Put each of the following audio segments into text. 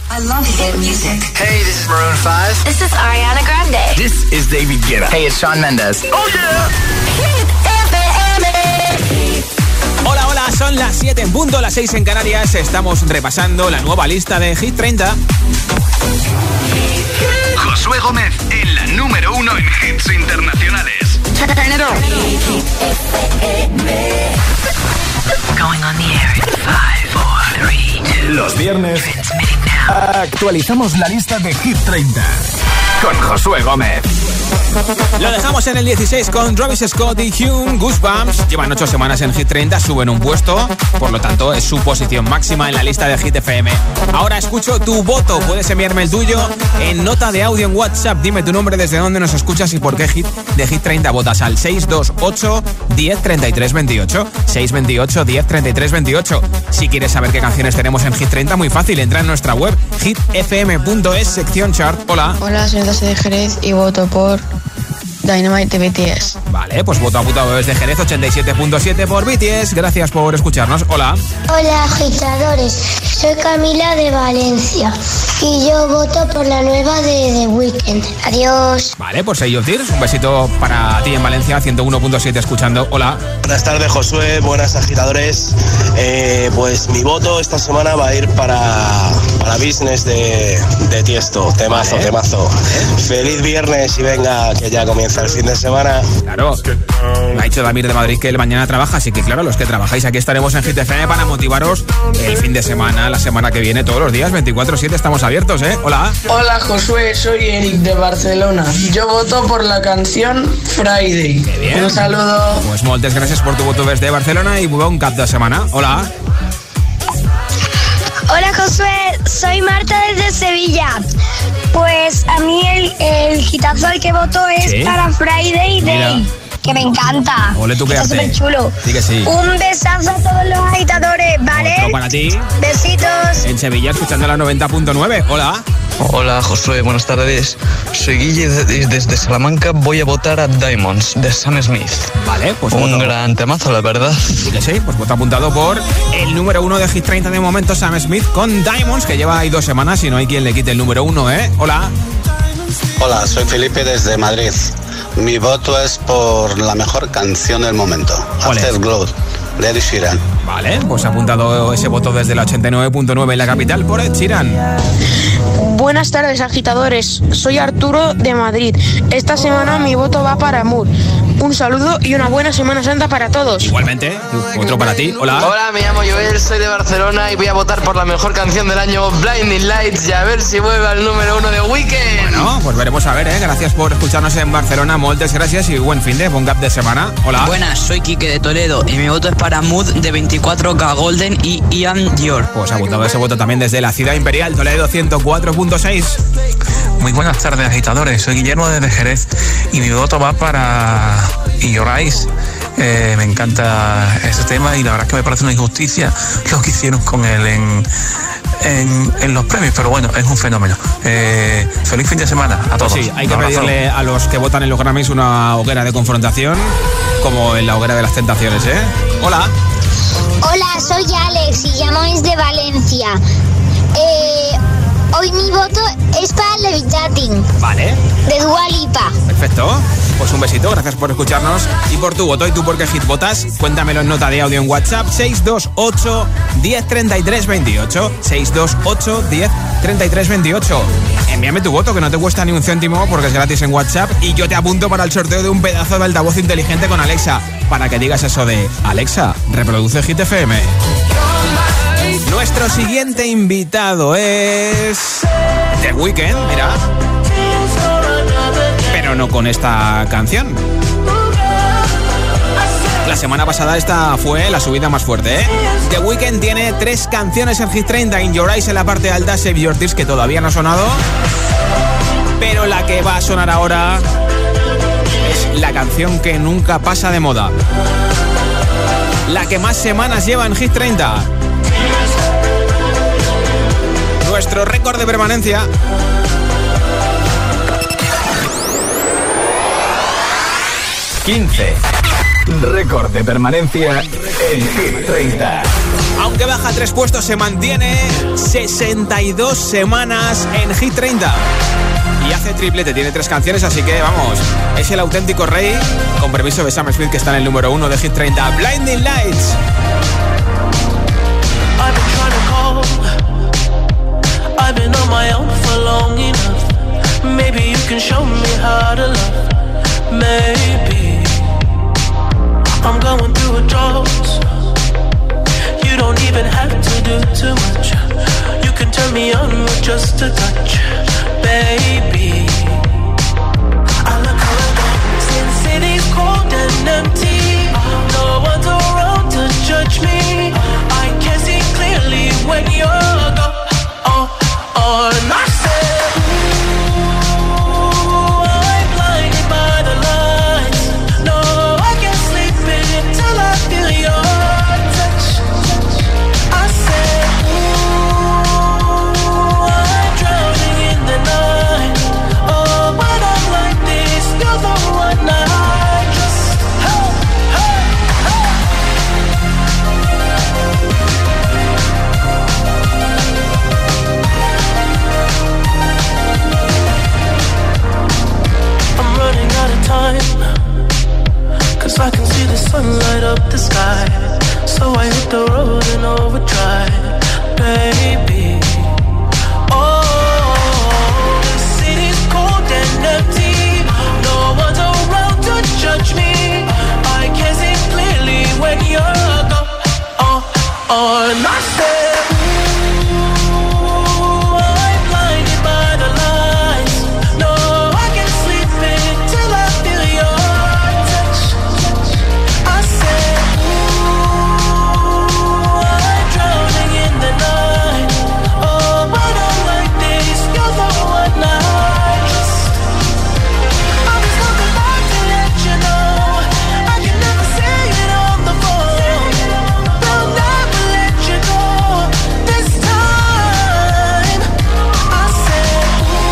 I love hit music. Hey, this is Maroon 5. This is Ariana Grande. This is David Guetta. Hey, it's Shawn Mendes. Oh yeah. Hit FM. Hola, hola, son las 7 en punto, las 6 en Canarias. Estamos repasando la nueva lista de Hit 30. Josué Gómez en la número 1 en hits internacionales. Turn it on. Going on the air in 5, 4, 3, 2. Los viernes Transmitting now. actualizamos la lista de Hit 30 con Josué Gómez. Lo dejamos en el 16 con Travis Scott y Hume, Goosebumps. Llevan 8 semanas en Hit 30, suben un puesto, por lo tanto es su posición máxima en la lista de Hit FM. Ahora escucho tu voto, puedes enviarme el tuyo en nota de audio en WhatsApp. Dime tu nombre, desde dónde nos escuchas y por qué Hit de Hit 30 votas al 628 10 33 28. 628 10 33 28. Si quieres saber qué canciones tenemos en Hit 30, muy fácil, entra en nuestra web hitfm.es, sección chart. Hola. Hola, soy José de Jerez y voto por Dynamite de BTS. Vale, pues voto apuntado desde Jerez, 87.7 por BTS. Gracias por escucharnos. Hola. Hola, agitadores. Soy Camila de Valencia y yo voto por la nueva de The Weeknd. Adiós. Vale, pues Say Your Tears. Un besito para ti en Valencia, 101.7 escuchando. Hola. Buenas tardes, Josué. Buenas, agitadores. Pues mi voto esta semana va a ir para Business de Tiesto. Temazo, vale. Temazo. Feliz viernes y venga, que ya comienza el fin de semana. Claro. Me ha dicho Damir de Madrid que él mañana trabaja, así que claro, los que trabajáis aquí estaremos en Hit FM para motivaros el fin de semana, la semana que viene, todos los días, 24/7 estamos abiertos, ¿eh? Hola. Hola, Josué, soy Eric de Barcelona. Yo voto por la canción Friday. Qué bien. Un saludo. Pues muchas gracias por tu voto desde Barcelona y buen cap de semana. Hola. Hola, Josué. Soy Marta desde Sevilla. Pues a mí el hitazo al que voto es ¿Sí? para Friday Day. Mira. Que me encanta. Ole tú, qué Está arte. súper chulo. Sí que sí. Un besazo a todos los agitadores, ¿vale? Otro para ti. Besitos. En Sevilla, escuchando la 90.9. Hola. Hola, Josué, buenas tardes. Soy Guille desde Salamanca. Voy a votar a Diamonds de Sam Smith. Vale, pues Un voto. gran temazo, la verdad. Sí que sí, pues voto apuntado por el número 1 de Hit 30 de momento, Sam Smith con Diamonds, que lleva ahí 2 semanas y no hay quien le quite el número 1, ¿eh? Hola. Hola, soy Felipe desde Madrid. Mi voto es por la mejor canción del momento, ¿Cuál es? Afterglow, de Ed Sheeran. Vale, pues apuntado ese voto desde la 89.9 en la capital por Ed Sheeran. Buenas tardes, agitadores. Soy Arturo de Madrid. Esta semana mi voto va para Moore. Un saludo y una buena Semana Santa para todos. Igualmente, otro para ti. Hola. Hola, me llamo Joel, soy de Barcelona y voy a votar por la mejor canción del año, Blinding Lights, y a ver si vuelve al número 1 de Weeknd. Bueno, pues veremos a ver, ¿eh? Gracias por escucharnos en Barcelona. Muchas gracias y buen fin de, buen gap de semana. Hola. Buenas, soy Quique de Toledo y mi voto es para Mood de 24K Golden y Ian Dior. Pues apuntado ese voto también desde la ciudad imperial, Toledo 104.6. Muy buenas tardes, agitadores. Soy Guillermo desde Jerez y mi voto va para In Your Eyes. Me encanta ese tema y la verdad es que me parece una injusticia lo que hicieron con él en los premios, pero bueno, es un fenómeno. Feliz fin de semana a todos. Pues sí, hay que Un abrazo. pedirle a los que votan en los Grammys una hoguera de confrontación, como en la hoguera de las tentaciones, ¿eh? Hola. Hola, soy Alex y llamo desde Valencia. Hoy mi voto es para Levitating, Vale. de Dua Lipa. Perfecto. Pues un besito, gracias por escucharnos y por tu voto. ¿Y tú por qué hit votas? Cuéntamelo en nota de audio en WhatsApp, 628 10 33 28. 628 10 33 28. Envíame tu voto, que no te cuesta ni un céntimo porque es gratis en WhatsApp, y yo te apunto para el sorteo de un pedazo de altavoz inteligente con Alexa, para que digas eso de: Alexa, reproduce Hit FM. Nuestro siguiente invitado es The Weeknd, mira. Pero no con esta canción. La semana pasada esta fue la subida más fuerte, ¿eh? The Weeknd tiene 3 canciones en Hit 30. In Your Eyes en la parte alta, Save Your Tears, que todavía no ha sonado, pero la que va a sonar ahora es la canción que nunca pasa de moda, la que más semanas lleva en Hit 30. Nuestro récord de permanencia. 15. Récord de permanencia en Hit 30. Aunque baja 3 puestos, se mantiene 62 semanas en Hit 30. Y hace triplete, tiene 3 canciones, así que vamos, es el auténtico rey, con permiso de Sam Smith, que está en el número 1 de Hit 30. Blinding Lights. I've been trying to call, I've been on my own for long enough. Maybe you can show me how to love. Maybe I'm going through a drought. You don't even have to do too much. You can turn me on with just a touch, baby. I look around, since city's cold and empty, no one's around to judge me. I can see clearly when you're gone. And I said, ooh, I'm blinded by the lights. No, I can't sleep until I feel your touch. I said, ooh, I'm drowning in the night. Oh, when I'm like this, you're the one I just, hey, hey, hey. I'm running out of time, 'cause I can see the sun light up the sky. So I hit the road in overdrive, baby. Oh, the city's cold and empty. No one's around to judge me. I can see clearly when you're gone. And I said, ooh, I'm blinded by the lights. No, I can't sleep until I feel your touch. I said, ooh, I'm drowning in the night. Oh, when I'm like this, you're the one I just, I'm just looking back to let you know. I can never say it on the phone. They'll never let you go this time. I said,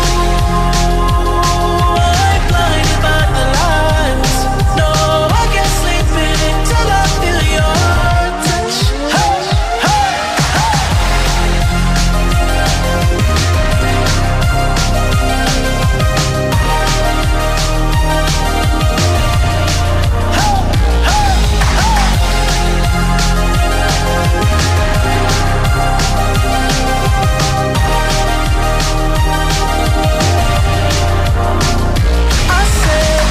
ooh, I'm blinded by the lights. No, I can't sleep until I feel your touch. Hey, hey, hey. I said,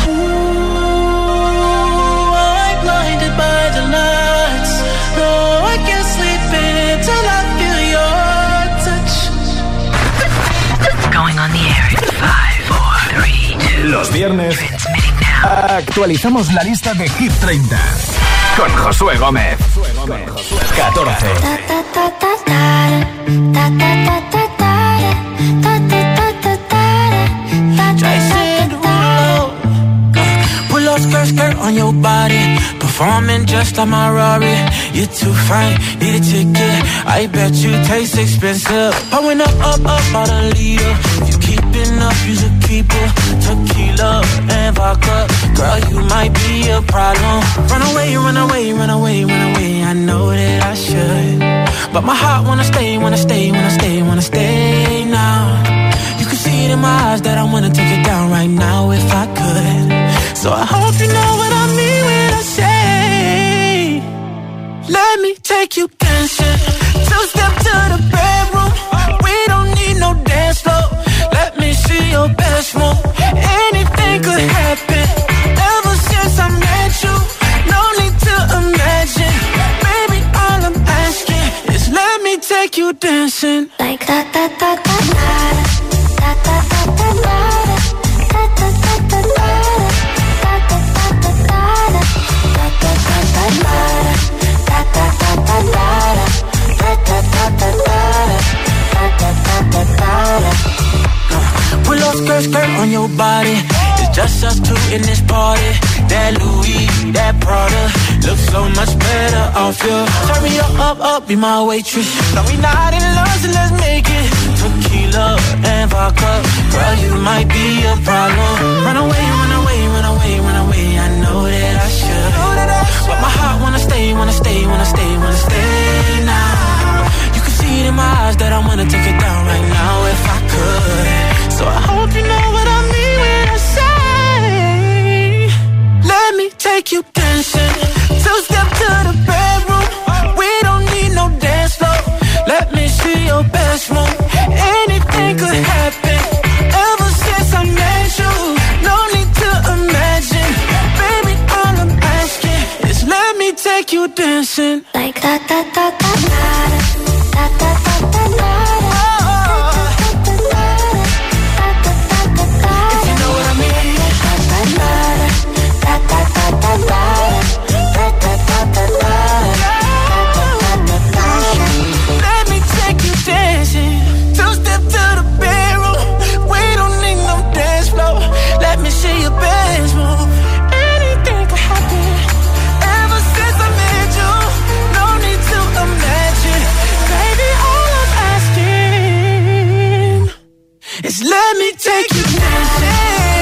ooh, I'm blinded by the lights. No, I can't sleep until I feel your touch. Going on the air in 5, 4, 3, 2. Los viernes Transmitting now. actualizamos la lista de Hit 30 con Josué Gómez. 14. Jason Derulo, pull up skirt, skirt on your body, performing just like my Rari. You're too fine, need a ticket. I bet you taste expensive. Pouring up, up, up, out a leader. If you keeping up, you should keep it. Tequila and vodka, girl, you might be a problem. Run away, run away, run away, run away. I know that I should, but my heart wanna stay, wanna stay, wanna stay, wanna stay now. You can see it in my eyes that I wanna take it down right now if I could. So I hope you know what I mean when I say, let me take you dancing. Two-step to the bedroom. We don't need no dance floor. Let me see your best move. Anything could happen. Ever since I met you, no need to imagine. Baby, all I'm asking is let me take you dancing. Like da da da da da da da da da da da da da pull up skirt, skirt on your body. It's just us two in this party. That Louis, that Prada, looks so much better off you. Turn me up, up, be my waitress. No, we not in love, so let's make it. Tequila and vodka, girl, you might be a problem. Run away, run away, run away, run away. I know that I should, but my heart wanna stay, wanna stay, wanna my eyes that I wanna take it down right now if I could. So I hope you know what I mean when I say, let me take you dancing. Two-step to the bedroom. We don't need no dance floor. Let me see your best move. Anything could happen. Ever since I met you, no need to imagine. Baby, all I'm asking is let me take you dancing. Like da da da da da da da da da. If you know what I mean. Da da da da da. Let me take you dancing. Two-step to the bedroom. We don't need no dance floor. Let me see your best move. Anything could happen. Ever since I met you, no need to imagine. Baby, all I'm asking is let me take you dancing.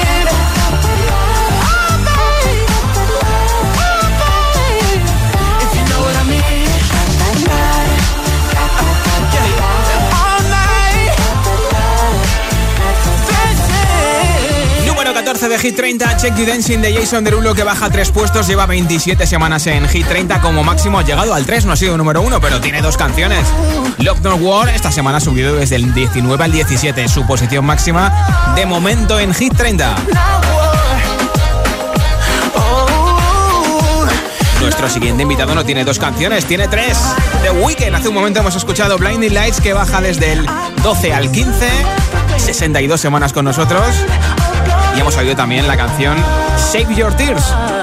De Hit 30, Check You Dancing de Jason Derulo, que baja 3 puestos, lleva 27 semanas en Hit 30, como máximo ha llegado al 3, no ha sido número 1, pero tiene 2 canciones. Love Not War esta semana ha subido desde el 19 al 17, su posición máxima de momento en Hit 30. Nuestro siguiente invitado no tiene 2 canciones, tiene 3. The Weeknd, hace un momento hemos escuchado Blinding Lights, que baja desde el 12 al 15, 62 semanas con nosotros. Y hemos oído también la canción Save Your Tears.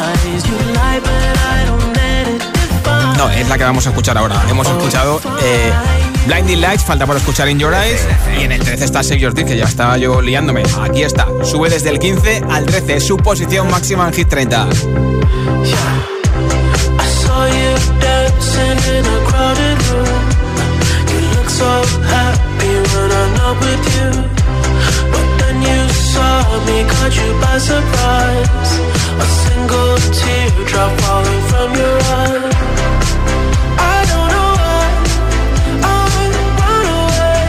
No, es la que vamos a escuchar ahora. Hemos escuchado Blinding Lights, falta por escuchar In Your Eyes. Y en el 13 está Save Your Tears, que ya estaba yo liándome. Aquí está, sube desde el 15 al 13, su posición máxima en Hit 30. Saw me, caught you by surprise. A single teardrop falling from your eye. I don't know why I run away.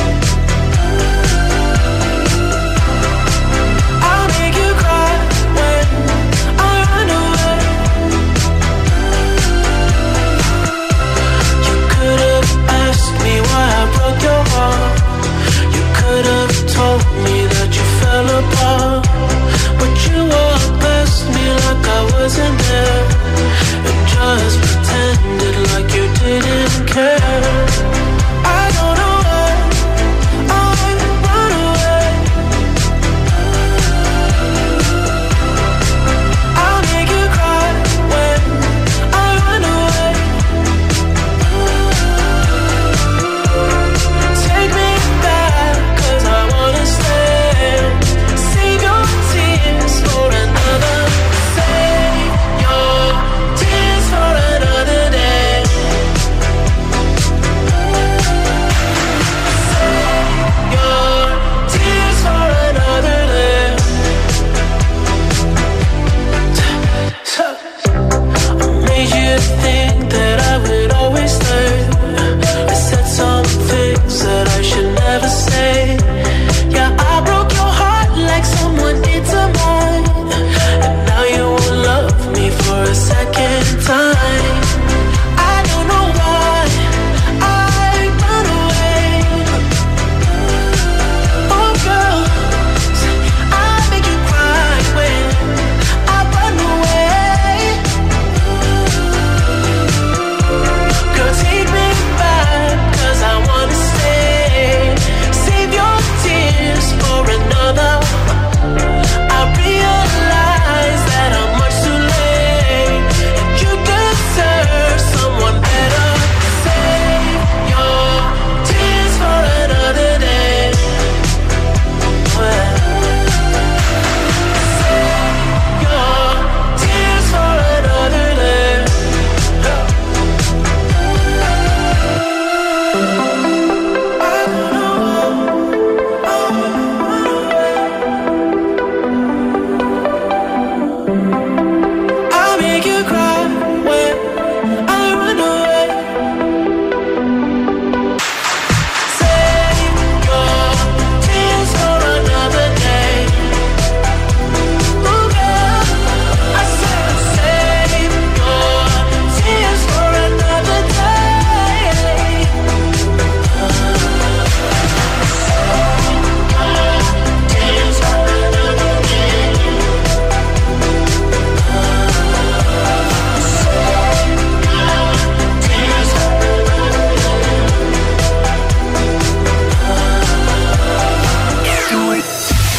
I'll make you cry when I run away. You could have asked me why I broke your heart.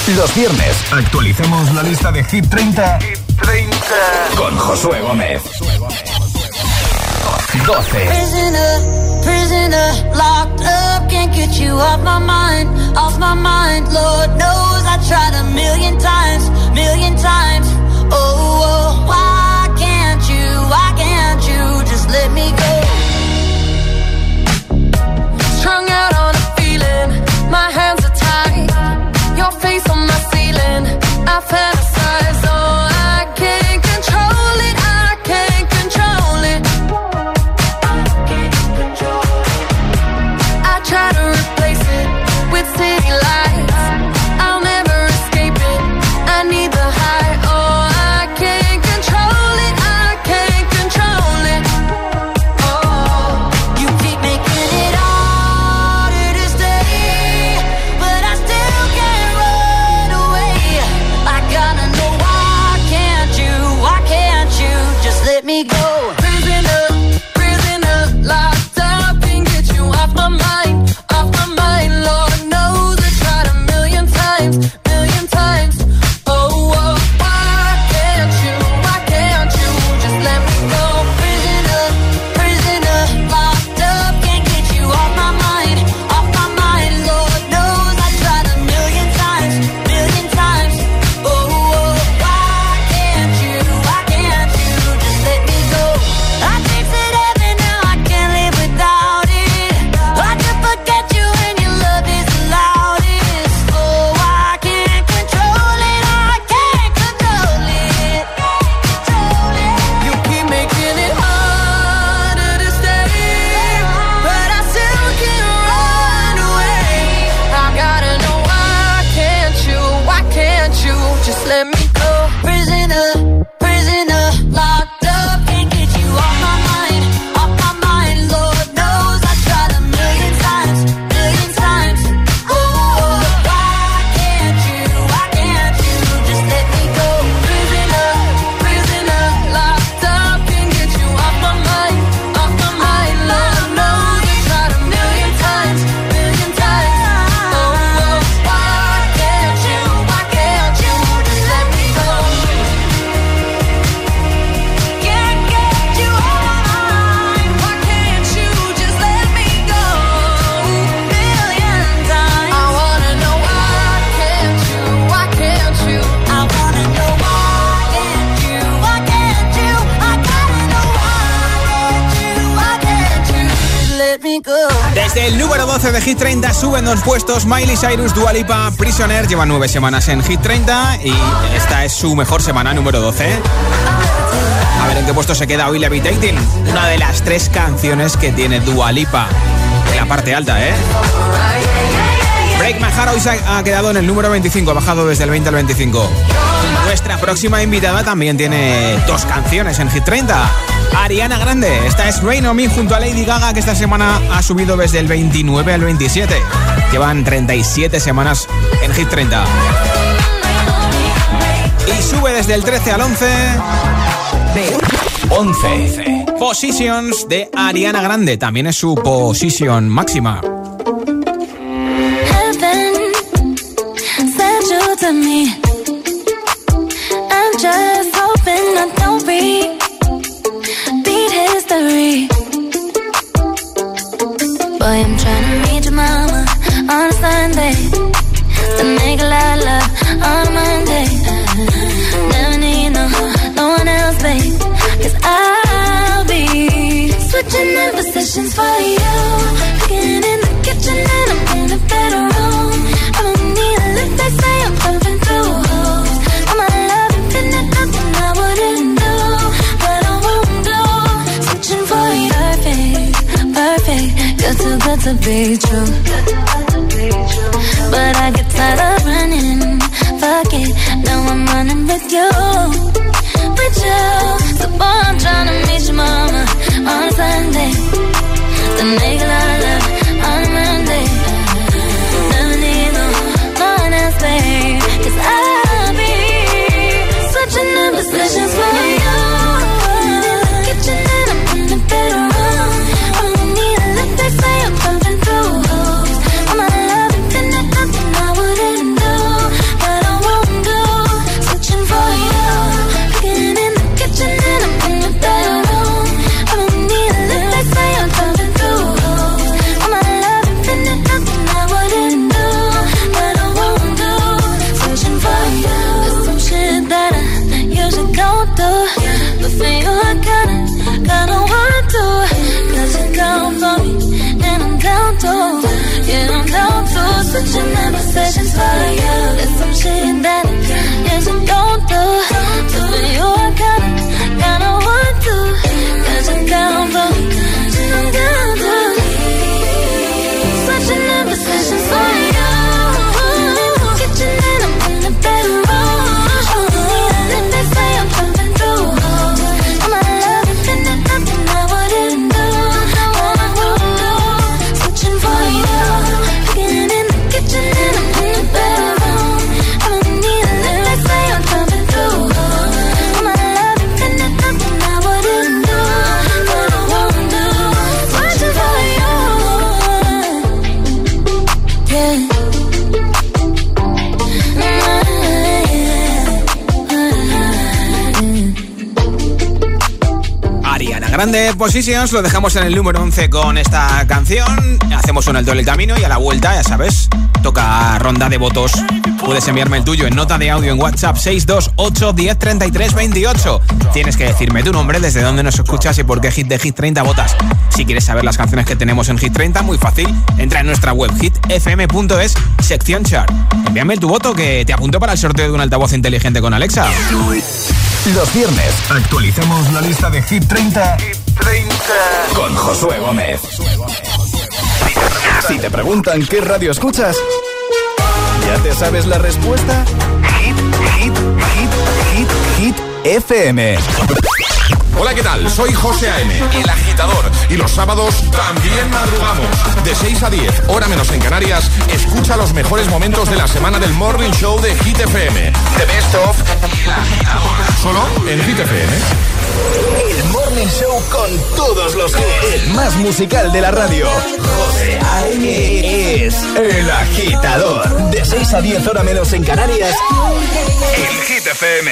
Los viernes actualicemos la lista de Hit 30, con Josué Gómez. 12. Prisoner, locked up, can't get you off my mind. Lord knows I tried a million times. Oh, why can't you just let me go? Strung out on a feeling, my hands are tied. Your face on my ceiling, I fantasize. Oh, I can't control it, I try to replace it with city lights. I'll never escape it, I need the high. Oh, I can't control it, Oh, you keep making it harder to stay, but I still can't run away. I gotta know why can't you just let me go? Prisoner, locked up, can't get you off my mind. Lord knows I tried a million times. Oh, why can't you just let me go? Prisoner, locked up, can't get you off my mind. Lord knows I tried a million times. Oh, why can't you just let me go? I tasted heaven, now I can't live without it. I could forget you and your love is the loudest. Oh, I can't control it, You keep making it harder to stay, but I still can't run away. I gotta know why can't you just let me go? Prisoner, locked up, can't get you off my mind. Lord knows I tried a million times. Oh, why can't you just let me go? Prisoner, locked up, can't get you off my mind. Lord knows I tried a million times. Oh, why can't you just let me go? Can't get you off my mind. Why can't you just let me go? Million times. I wanna know why can't you? I wanna know why can't you? I gotta know why can't you just let me go? Desde el número 12 de Hit 30 suben 2 puestos Miley Cyrus, Dua Lipa, Prisoner. Llevan 9 semanas en Hit 30 y esta es su mejor semana, número 12. A ver en qué puesto se queda hoy Levitating, una de las 3 canciones que tiene Dua Lipa en la parte alta, ¿eh? Break My Heart hoy se ha quedado en el número 25, ha bajado desde el 20 al 25. Nuestra próxima invitada también tiene 2 canciones en Hit 30. Ariana Grande, esta es Rain on Me junto a Lady Gaga, que esta semana ha subido desde el 29 al 27. Llevan 37 semanas en Hit 30. Y sube desde el 13 al 11. 11. Positions de Ariana Grande, también es su posición máxima. To me, I'm just hoping I don't beat history. Boy, I'm trying to meet your mama on a Sunday, to make a lot of love on a Monday. Never need no one else, babe, 'cause I'll be switching in positions for you, cooking in the kitchen and I'm in the bedroom. I don't need a lift, they say I'm pumping through holes. I'm a love infinite, nothing I wouldn't do, but I won't do. Switching for you, perfect, you're too good to be true. But I get tired of running, fuck it, now I'm running with you. So boy, I'm trying to meet your mama on a Sunday, to make a lot of love on a Monday. Never need no one else, babe, 'cause I'll be switching in positions for you. In the kitchen and I'm in the bedroom. I don't need a lift, they say I'm pumping through. switching in positions for you. There's some shit that yes and don't do. So for you I kinda want to. Cause I'm down for, I'm down to. Switching in positions for you. Kitchen and I'm in the bedroom. Then they say I'm jumping through. I'm not loving, then there's nothing I wouldn't do. Switching for you. Getting in the kitchen and I'm in the bedroom. I'm in need of it, they say I'm jumping through. I'm not loving, then there's nothing I wouldn't do. What I won't do. Switching for you. Yeah. Ariana Grande, Positions, lo dejamos en el número 11 con esta canción. Hacemos un alto en el camino y a la vuelta, ya sabes, toca ronda de votos. Puedes enviarme el tuyo en nota de audio en WhatsApp 628 10 33 28. Tienes que decirme tu nombre, desde dónde nos escuchas y por qué hit de Hit 30 votas. Si quieres saber las canciones que tenemos en Hit 30, muy fácil, entra en nuestra web hitfm.es, sección chart. Envíame tu voto que te apunto para el sorteo de un altavoz inteligente con Alexa. Los viernes actualizamos la lista de Hit 30 con Josué Gómez. Si te preguntan qué radio escuchas, ¿ya te sabes la respuesta? Hit FM. Hola, ¿qué tal? Soy José A.M., el agitador. Y los sábados también madrugamos. De 6 a 10, hora menos en Canarias, escucha los mejores momentos de la semana del Morning Show de Hit FM. The Best of El Agitador. Solo en Hit FM. El Morning Show con todos los hits. El más musical de la radio. José A.M. es El Agitador. De 6 a 10, hora menos en Canarias, en Hit FM.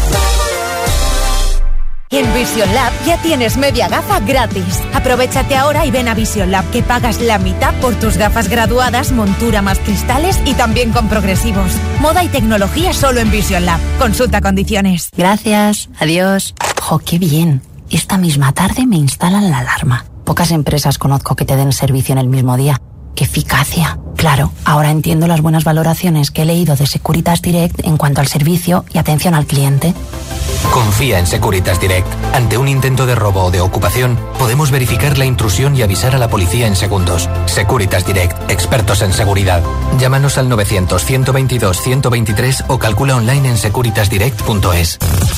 En Vision Lab ya tienes media gafa gratis. Aprovechate ahora y ven a Vision Lab, que pagas la mitad por tus gafas graduadas, montura más cristales y también con progresivos. Moda y tecnología solo en Vision Lab. Consulta condiciones. Gracias. Adiós. Jo, qué bien. Esta misma tarde me instalan la alarma. Pocas empresas conozco que te den servicio en el mismo día. ¡Qué eficacia! Claro, ahora entiendo las buenas valoraciones que he leído de Securitas Direct en cuanto al servicio y atención al cliente. Confía en Securitas Direct. Ante un intento de robo o de ocupación, podemos verificar la intrusión y avisar a la policía en segundos. Securitas Direct, expertos en seguridad. Llámanos al 900-122-123 o calcula online en securitasdirect.es.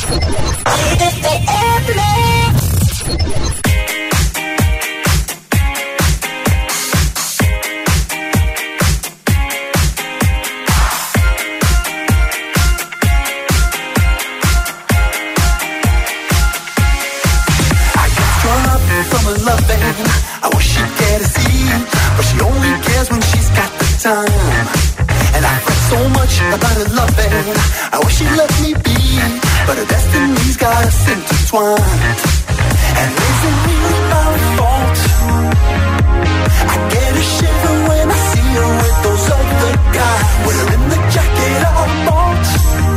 I wish she'd get a seat, but she only cares when she's got the time. And I fret so much about her loving. I wish she'd let me be, but her destiny's got us intertwined. And is it really my fault? I get a shiver when I see her with those other guys, wearing the jacket I bought.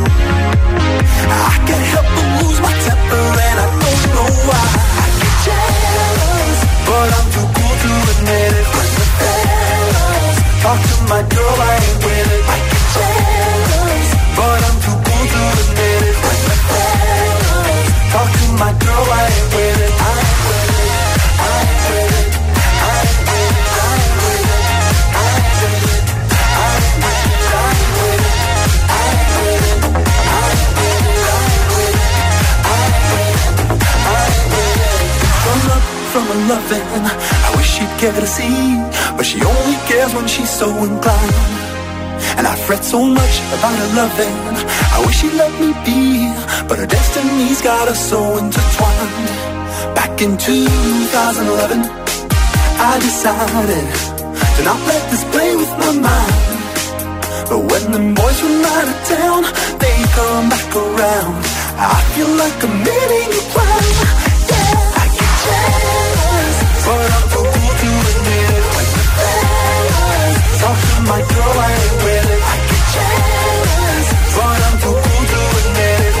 I can't help but lose my temper and I don't know why. I get jealous, but I'm too cool to admit it. When the fellas talk to my girl, I ain't with it. I get jealous, but I'm too cool to admit it. When the fellas talk to my girl, I ain't with it. I ain't with it. I ain't with it. I ain't with it. I ain't with it. I ain't with it. I ain't with it. I ain't with it. I ain't with it. I ain't with it. I ain't with it. I ain't with it. From up from her loving, I wish she'd get a seat, but she only cares when she's so inclined. And I fret so much about her loving. I wish she'd let me be, but her destiny's got us so intertwined. Back in 2011, I decided to not let this play with my mind. But when them boys from out of town, they come back around, I feel like committing a crime. Yeah, I get jealous, but I'm too cool to admit it. When the fellas talk to my girl, I ain't with it. I get jealous, but I'm too cool to admit it.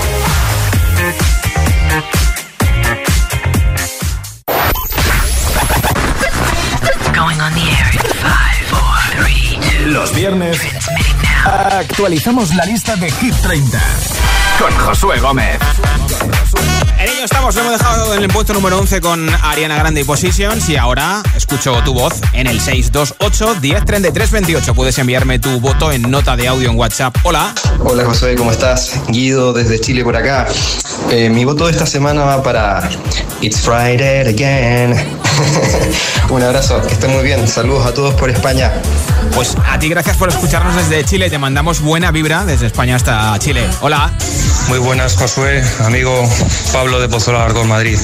Going on the air in 5, 4, 3, 2. Los viernes Actualizamos la lista de Hit 30 con Josué Gómez. En ello estamos, lo hemos dejado en el puesto número 11 con Ariana Grande y Positions. Y ahora escucho tu voz en el 628 10 33 28. Puedes enviarme tu voto en nota de audio en WhatsApp. Hola. Hola Josué, ¿cómo estás? Guido desde Chile por acá. Mi voto de esta semana va para It's Friday Again. Un abrazo, que estén muy bien. Saludos a todos por España. Pues a ti gracias por escucharnos desde Chile. Te mandamos buena vibra desde España hasta Chile. Hola. Muy buenas, Josué, amigo Pablo de Pozuelo Alarcón, Madrid.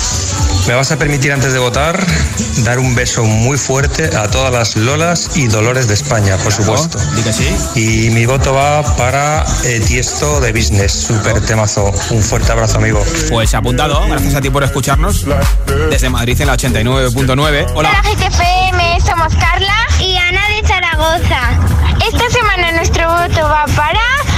Me vas a permitir, antes de votar, dar un beso muy fuerte a todas las Lolas y Dolores de España, por supuesto. Di que sí. Y mi voto va para Tiesto de Business, súper temazo. Un fuerte abrazo, amigo. Pues apuntado, gracias a ti por escucharnos desde Madrid en la 89.9. Hola. Hola GTFM, somos Carla y Ana de Zaragoza. Esta semana nuestro voto va para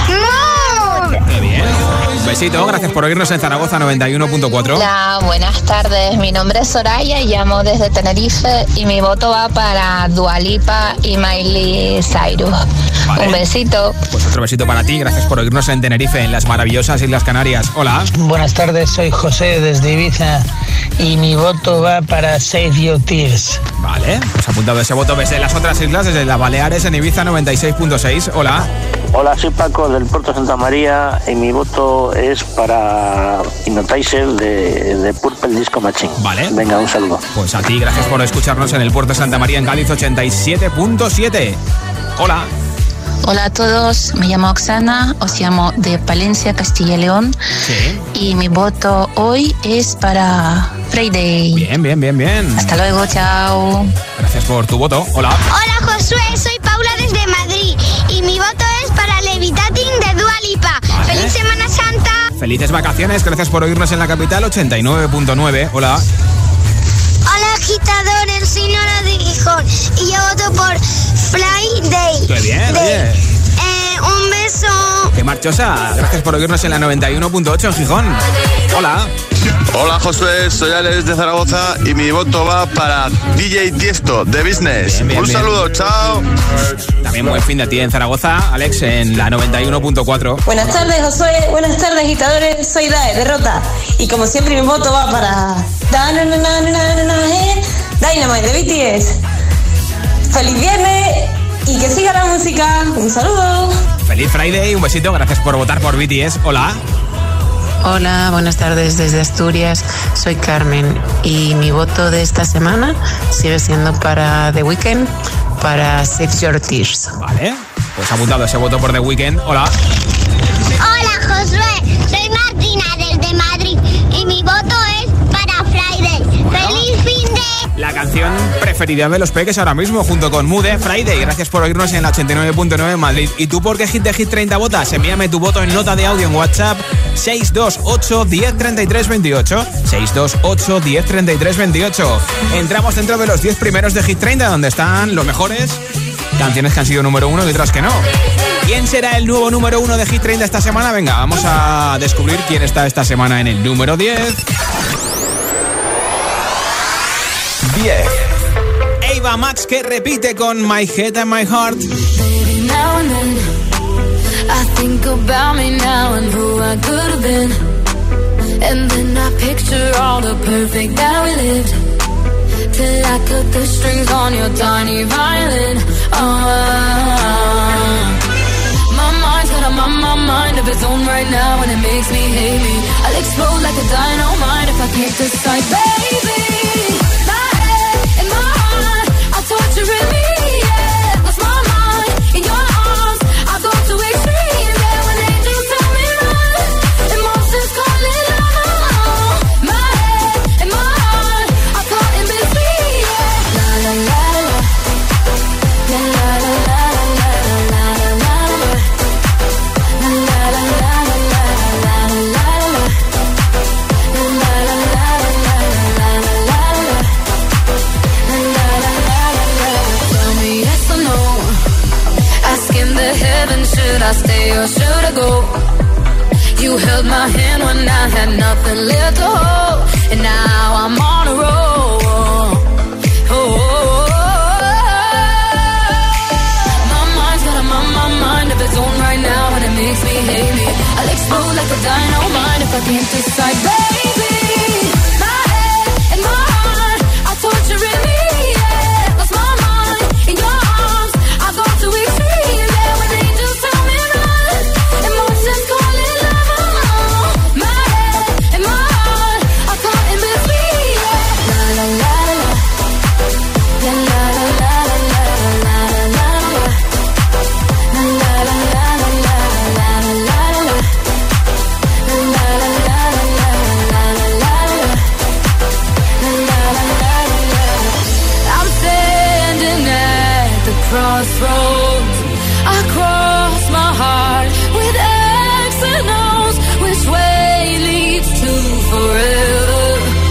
Mood. Qué bien. Un besito, gracias por oírnos en Zaragoza 91.4. Hola, buenas tardes. Mi nombre es Soraya y llamo desde Tenerife y mi voto va para Dua Lipa y Miley Cyrus. Vale. Un besito. Pues otro besito para ti, gracias por oírnos en Tenerife, en las maravillosas Islas Canarias. Hola. Buenas tardes, soy José desde Ibiza y mi voto va para Save Your Tears. Vale, pues apuntado ese voto desde las otras islas, desde las Baleares en Ibiza 96.6. Hola. Hola, soy Paco del Puerto Santa María y mi voto es para Hypnotizer de Purple Disco Machine. Vale. Venga, un saludo. Pues a ti, gracias por escucharnos en el Puerto Santa María en Cádiz 87.7. Hola. Hola a todos, me llamo Oksana, os llamo de Palencia, Castilla y León. Sí. Y mi voto hoy es para Friday. Bien. Hasta luego, chao. Gracias por tu voto. Hola. Hola Josué, soy Paula desde Madrid y mi voto es para Levitating de Dua Lipa. Vale. ¡Feliz Semana Santa! Felices vacaciones, gracias por oírnos en la capital 89.9. Hola. Hola agitadores, soy Nora de Gijón y yo voto por Friday. Qué bien, oye. Un beso. Qué marchosa, gracias por oírnos en la 91.8 en Gijón. Hola. Hola Josué, soy Alex de Zaragoza y mi voto va para DJ Tiesto de Business. Un saludo, chao. También buen fin de ti en Zaragoza, Alex, en la 91.4. Buenas tardes Josué, buenas tardes agitadores, soy Dae de Rota y como siempre mi voto va para Dynamite de BTS. ¡Feliz viernes! Y que siga la música. Un saludo. Feliz Friday, un besito, gracias por votar por BTS. Hola. Hola, buenas tardes desde Asturias. Soy Carmen y mi voto de esta semana sigue siendo para The Weeknd, para Save Your Tears. Vale, pues apuntado ese voto por The Weeknd. Hola. Hola Josué, soy Martina desde Madrid y mi voto es para Friday. Bueno. ¡Feliz fin de! La canción preferida de los peques ahora mismo, junto con Mood, Friday. Gracias por oírnos en la 89.9 en Madrid. ¿Y tú por qué Hit de Hit 30 votas? Envíame tu voto en nota de audio en WhatsApp 628 10 33 28. 628 10 33 28. Entramos dentro de los 10 primeros de Hit 30, donde están los mejores canciones que han sido número 1 y otras que no. ¿Quién será el nuevo número 1 de Hit 30 esta semana? Venga, vamos a descubrir quién está esta semana en el número 10. 10. Ava Max, que repite con My Head and My Heart. Baby, now and then I think about me now and who I could have been. And then I picture all the perfect that we lived. Till I cut the strings on your tiny violin. My mind's got a mind of its own right now, and it makes me hate me. I'll explode like a dynamite if I can't decide, baby. Torturing me, yeah. Lost my mind in your arms. I go to extreme, yeah. When angels tell me run, emotions calling out. My head and my heart are caught in between, yeah. La la la la, la la la la la la la la, la la la la la la la la. Should I stay or should I go? You held my hand when I had nothing left to hold, and now I'm on a roll. My mind's got a mind stuck inside, baby. My head and my heart are torturing me, yeah. Lost my mind in your arms, I go to extreme, yeah. When angels tell me run, emotions calling love. My head and my heart are caught in between, yeah. La la la la, la la la la la la la la, la la la la la la la la. I'm standing at the crossroads. I cross my heart with X and O's. Which way leads to forever?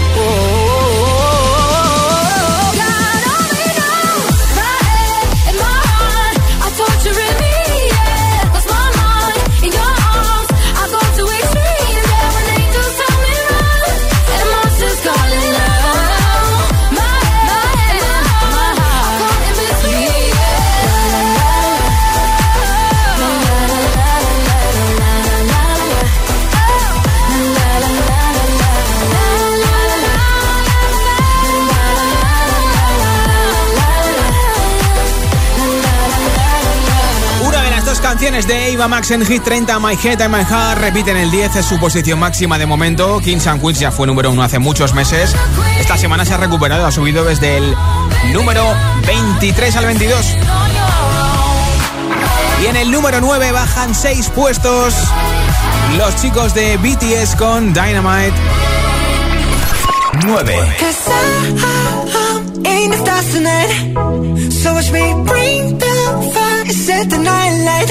God only knows. My head and my heart are torturing me, yeah. Lost my mind in your arms, I go to extreme, yeah. When angels tell me run, and monsters calling love. My head and my heart are caught in between, Una de las dos canciones de Ava Max en Hit 30, My Head and My Heart, repiten el 10, es su posición máxima de momento. Kings and Queens ya fue número 1 hace muchos meses. Esta semana se ha recuperado, ha subido desde el número 23 al 22. Y en el número 9 bajan 6 puestos los chicos de BTS con Dynamite. 9. In the stars tonight, so watch me bring the fire, set the night light.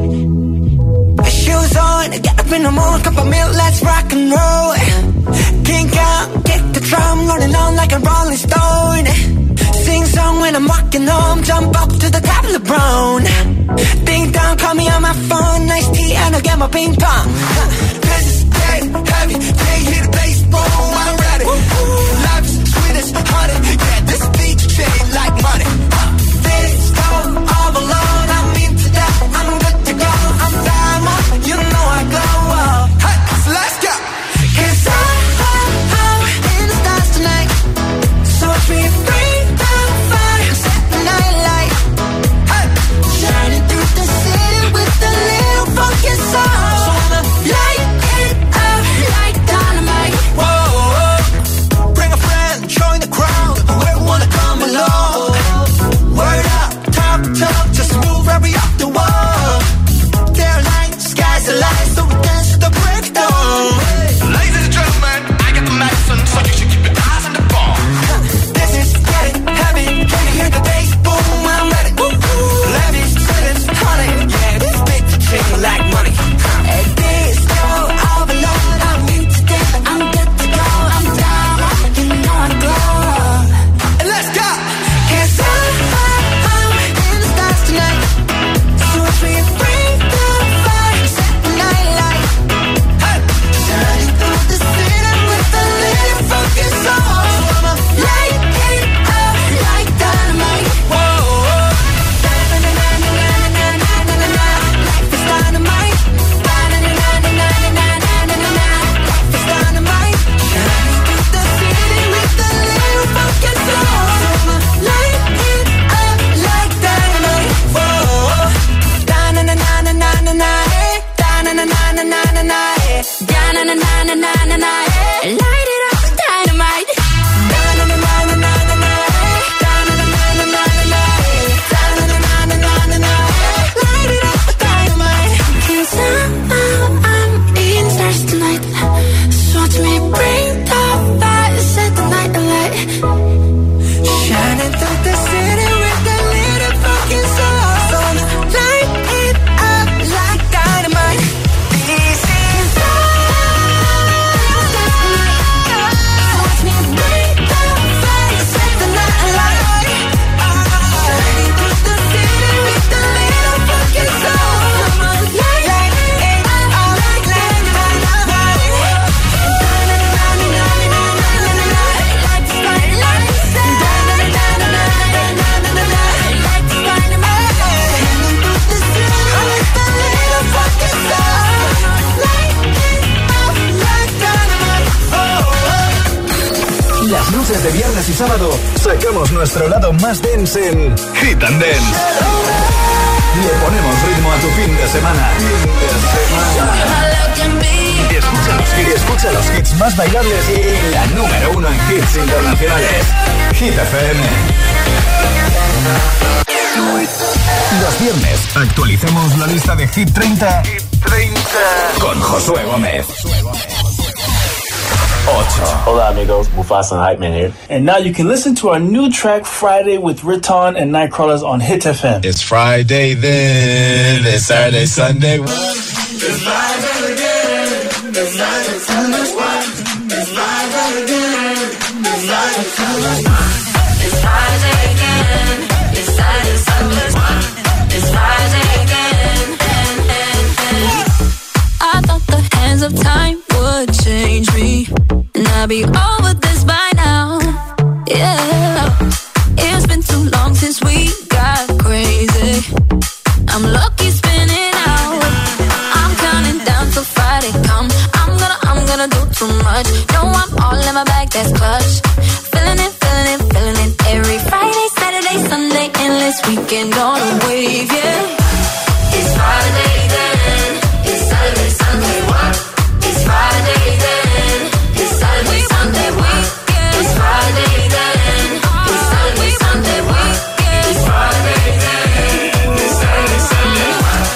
Shoes on, get up in the morning, cup of milk, let's rock and roll. Kink out, get the drum, rolling on like a rolling stone. Sing song when I'm walking home, jump up to the top of the brown. Ding dong, call me on my phone, nice tea and I'll get my ping pong. Cause it's dead heavy, can't hear the bass, boom, I'm ready. Life's sweet as honey, yeah, this beat shade like money. This go all alone, I'm into that, I'm good to go. I'm diamond, you know I glow. Hey, so let's go. Cause I'm in the stars tonight, so watch me bring the fire, set the night light. Hey, shining through the city with a little funky soul. So I'ma light it up like dynamite. Whoa, bring a friend, join the crowd, whoever wanna come along. Word up, talk, just move right up the wall. They're like, sky's the light, so we dance to the break of dawn. Ladies and gentlemen, I got the medicine, so you should keep your eyes on the ball. This is getting heavy, can you hear the bass? Boom, I'm ready. Levi's, sweetest, honey, yeah, this bitch shake like money. And this go all alone, I'm into this, I'm good to go. I'm down, you know I glow. And let's go! Cause I'm in the stars tonight, so watch me bring the fire, set the night light. Hey, shining through the city with a little funky soul. So I'ma light it up like dynamite. Whoa, da-na-na-na-na-na-na-na-na-na. Life is dynamite. Da-na-na-na-na-na-na-na-na-na. Life is dynamite. Shining through the city with a little funky soul. So I'ma light it up like dynamite. Whoa, da-na-na-na-na-na-na-na. Da-na-na-na-na-na-na. Da-na-na-na-na-na-na. Light it up with dynamite. Da-na-na-na-na-na-na. Da-na-na-na-na-na-na. Da-na-na-na-na-na-na. Light it up with dynamite. 'Cause I'm in stars tonight, so watch me bring the fire, set the night alight. Shining through the city with a little fucking soul. So light it up like dynamite. This is all. viernes y sábado sacamos nuestro lado más dance en Hit and Dance. Le ponemos ritmo a tu fin de semana. Escucha los hits más bailables y la número 1 en hits internacionales. Hit FM. Los viernes actualicemos la lista de Hit 30, con Josué Gómez. 8. Hola amigos, Mufasa and Hype Man here. And now you can listen to our new track Friday with Riton and Nightcrawlers on Hit FM. It's Friday then, it's Saturday, Sunday. It's Friday again, it's Friday, Sunday. It's Friday again, it's Friday, Sunday. It's Friday again, it's Saturday, Sunday. It's Friday again, I thought the hands of time would change me, and I'll be over this by now. Yeah, it's been too long since we got crazy. I'm lucky spinning out. I'm counting down till Friday come. I'm gonna do too much. No, I'm all in my bag, that's clutch. Feeling it. Every Friday, Saturday, Sunday, endless weekend on a wave, yeah. It's Friday then, it's Saturday, Sunday, what? It's Friday then, it's Saturday, Sunday, weekend. It's Friday then, it's Saturday, Sunday, weekend. It's Friday then, it's Saturday, Sunday, what?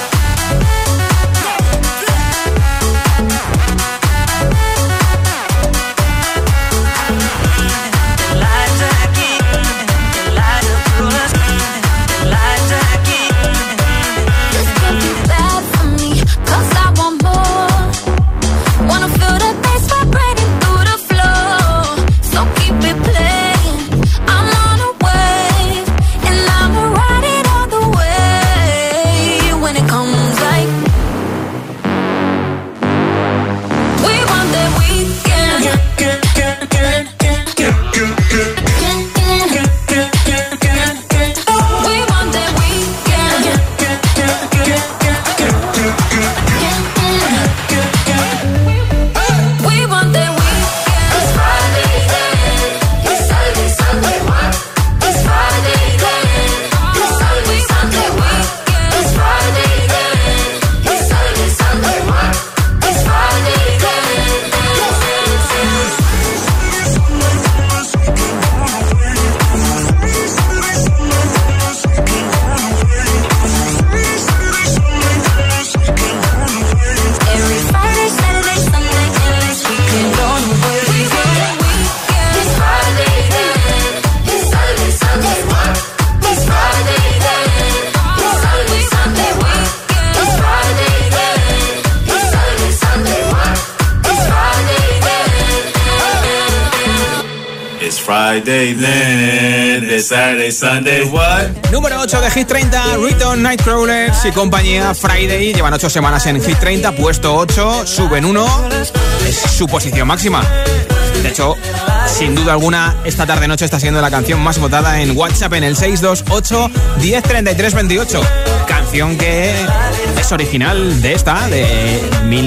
Friday then, it's Saturday, Sunday, what? Número 8 de Hit 30, Riton, Nightcrawlers y compañía. Friday, llevan 8 semanas en Hit 30, puesto 8, suben 1, es su posición máxima. De hecho, sin duda alguna, esta tarde-noche está siendo la canción más votada en WhatsApp en el 628 1033 28. Canción que es original de esta, de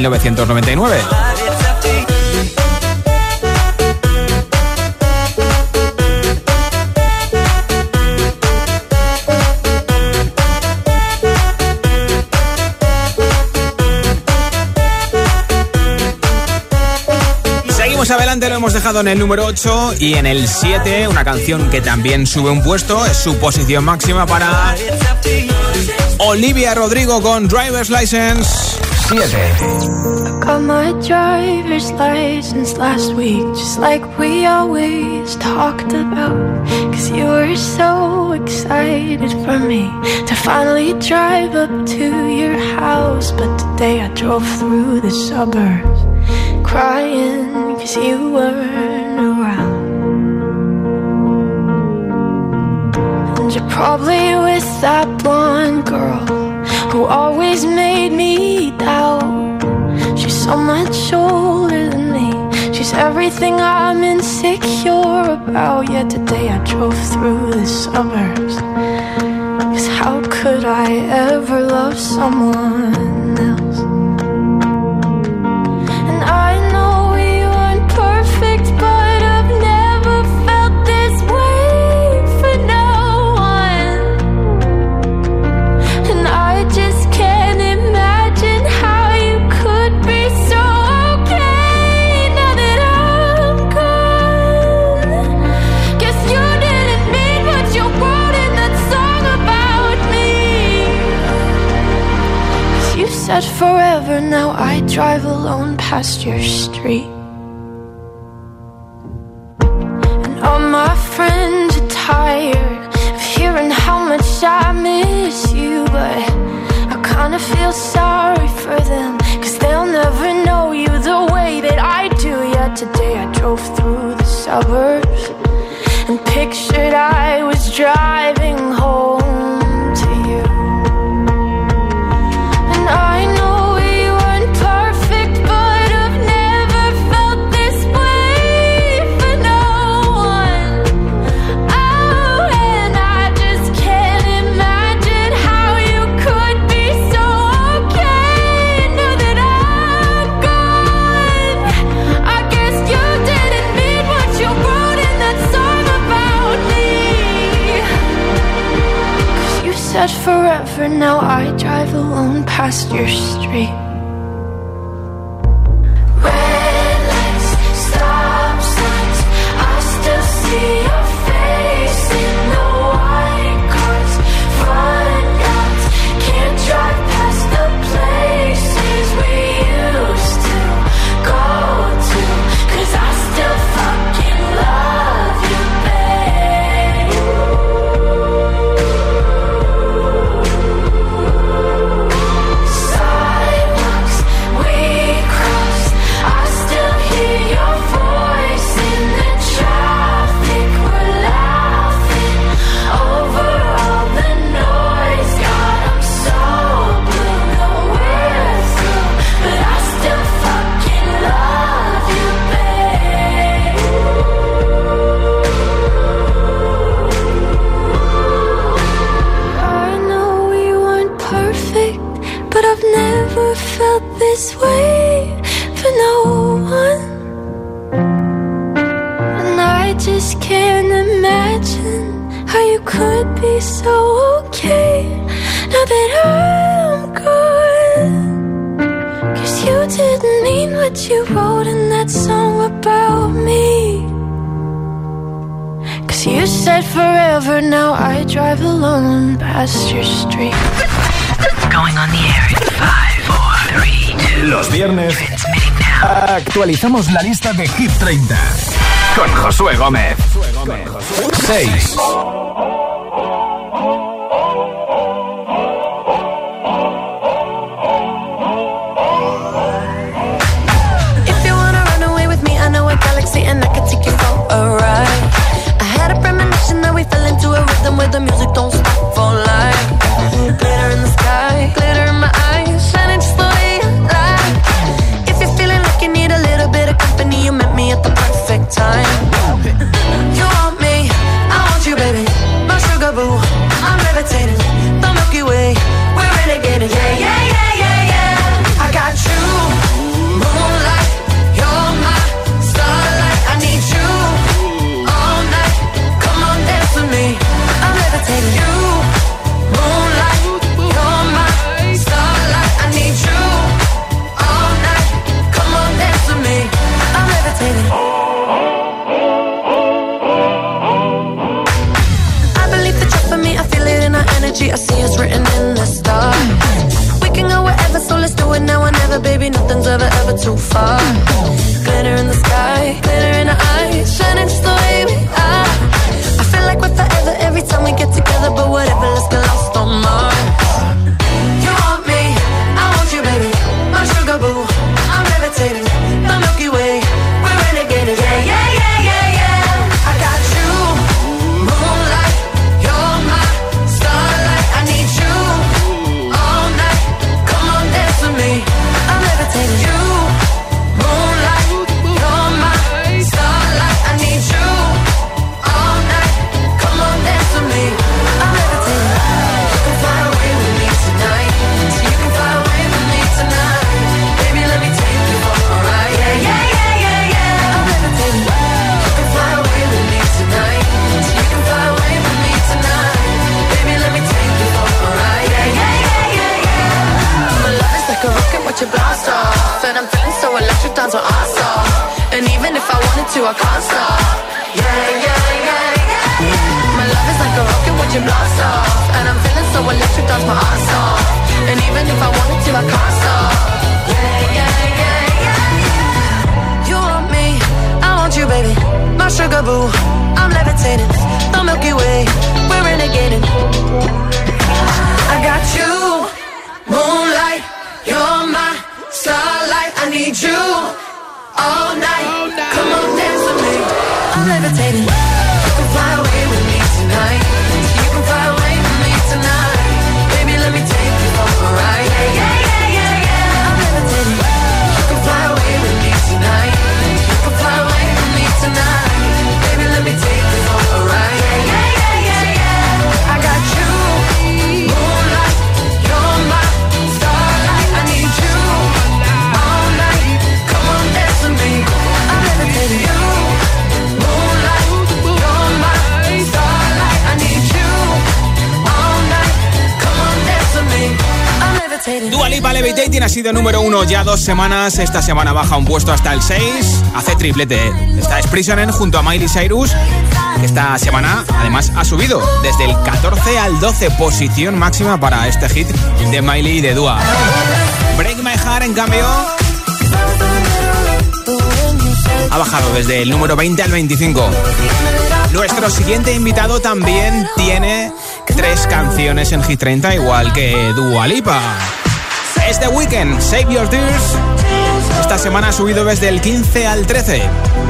1999. Adelante, lo hemos dejado en el número 8 y en el 7, una canción que también sube un puesto, es su posición máxima para Olivia Rodrigo con Driver's License. 7. I got my driver's license last week, just like we always talked about. Cause you were so excited for me to finally drive up to your house. But today I drove through the suburbs crying cause you weren't around. And you're probably with that blonde girl who always made me doubt. She's so much older than me, she's everything I'm insecure about. Yet today I drove through the suburbs, cause how could I ever love someone else? And I know we weren't perfect, but I've never felt this said forever, now I drive alone past your street. And all my friends are tired of hearing how much I miss you, but I kinda feel sorry for them, 'cause they'll never know you the way that I do. Yeah, today I drove through the suburbs and pictured I was driving home to you. And I know we weren't perfect, but I've never felt this way for no one. Oh, and I just can't imagine how you could be so okay now that I'm gone. I guess you didn't mean what you wrote in that song about me. 'Cause you said forever, now I drive alone past your street. Red lights, stop signs, I still see your face in the white cars, front yards, can't drive past the places we used to go to, 'cause I still fucking love you, babe. Sidewalks we crossed, I still hear your voice in the traffic. We're laughing over all the noise. God, I'm so blue, no we're through, but I still fucking love you, babe. I know we weren't perfect, but I've never felt this way for no one. And I just can't imagine how you could be so okay now that I'm gone. 'Cause you didn't mean what you wrote in that song about me. 'Cause you said forever, now I drive alone past your street. Going on the air in 5, 4, 3, 2. Los viernes actualizamos la lista de Hit 30 con Josué Gómez. 6. If you wanna run away with me, I know a galaxy and I can take you for a ride. I had a premonition that we fell into a rhythm where the music don't stop for life. Glitter in the sky, glitter in my eyes, shining just the way you like. If you're feeling like you need a little bit of company, you met me at the perfect time. You want me, I want you, baby. My sugar boo, I'm levitating. The Milky Way, we're renegading. Yeah, yeah, yeah, yeah, yeah. I got you, moonlight, you're my starlight. I need you all night. Come on, dance with me. I'm levitating. You, moonlight, you're my starlight. I need you all night. Come on, dance with me. I'm levitating. I believe that you're for me. I feel it in our energy. I see it's written in the stars. We can go wherever, so let's do it now or never, baby. Nothing's ever, ever too far. Glitter in the sky, glitter in our eyes, shining just the way we are. I feel like we're forever every time we get together, but whatever, let's get lost on Mars. You want me, I want you, baby. My sugar boo, I'm levitating. The Milky Way, we're renegading. Yeah, yeah, yeah, yeah, yeah. I got you, moonlight, you're my starlight. I need you all night. Come on, dance with me. I'm levitating. You, moonlight, you're my starlight. I need you all night. Come on, dance with me. I'm levitating. You can fly away with me tonight. So you can fly away with me tonight. Baby, let me take you for a ride. Yeah, yeah, yeah, yeah, yeah. I'm levitating. You can fly away with me tonight. So you can fly away with me tonight. Baby, let me take you for a ride. Yeah, yeah, yeah, yeah, yeah. My love is like a rocket, watch it blast off. And I'm feeling so electric, dance with us off. And even if I wanted to, I can't stop. Yeah, yeah, yeah, yeah. My love is like a rocket, watch it blast off. And I'm feeling so electric, dance my ass off. And even if I wanted to, I can't stop. Malibu, I'm levitating. The Milky Way, we're renegading. I got you, moonlight, you're my starlight. I need you all night. Come on, dance with me. I'm levitating. You can fly away with me tonight. You can fly away with me tonight. Baby, let me take you for a ride. Yeah, yeah, yeah, yeah, yeah. I'm levitating. You can fly away with me tonight. You can fly away with me tonight. Baby, let me take you for a ride. Yeah, yeah, yeah, yeah, yeah. I got you, moonlight, you're my starlight. I need you all night. Come on, dance with me. I'm levitating. You, moonlight, you're my starlight. I need you all night. Come on, dance with me. I'm levitating. Dua Lipa, Levitating ha sido número 1 ya 2 semanas. Esta semana baja un puesto hasta el 6. Hace triplete. Esta es Prisoner junto a Miley Cyrus. Esta semana además ha subido desde el 14 al 12. Posición máxima para este hit de Miley y de Dua. Break My Heart, en cambio, ha bajado desde el número 20 al 25. Nuestro siguiente invitado también tiene 3 canciones en Hit 30, igual que Dua Lipa. Es The Weeknd, Save Your Tears. Esta semana ha subido desde el 15 al 13.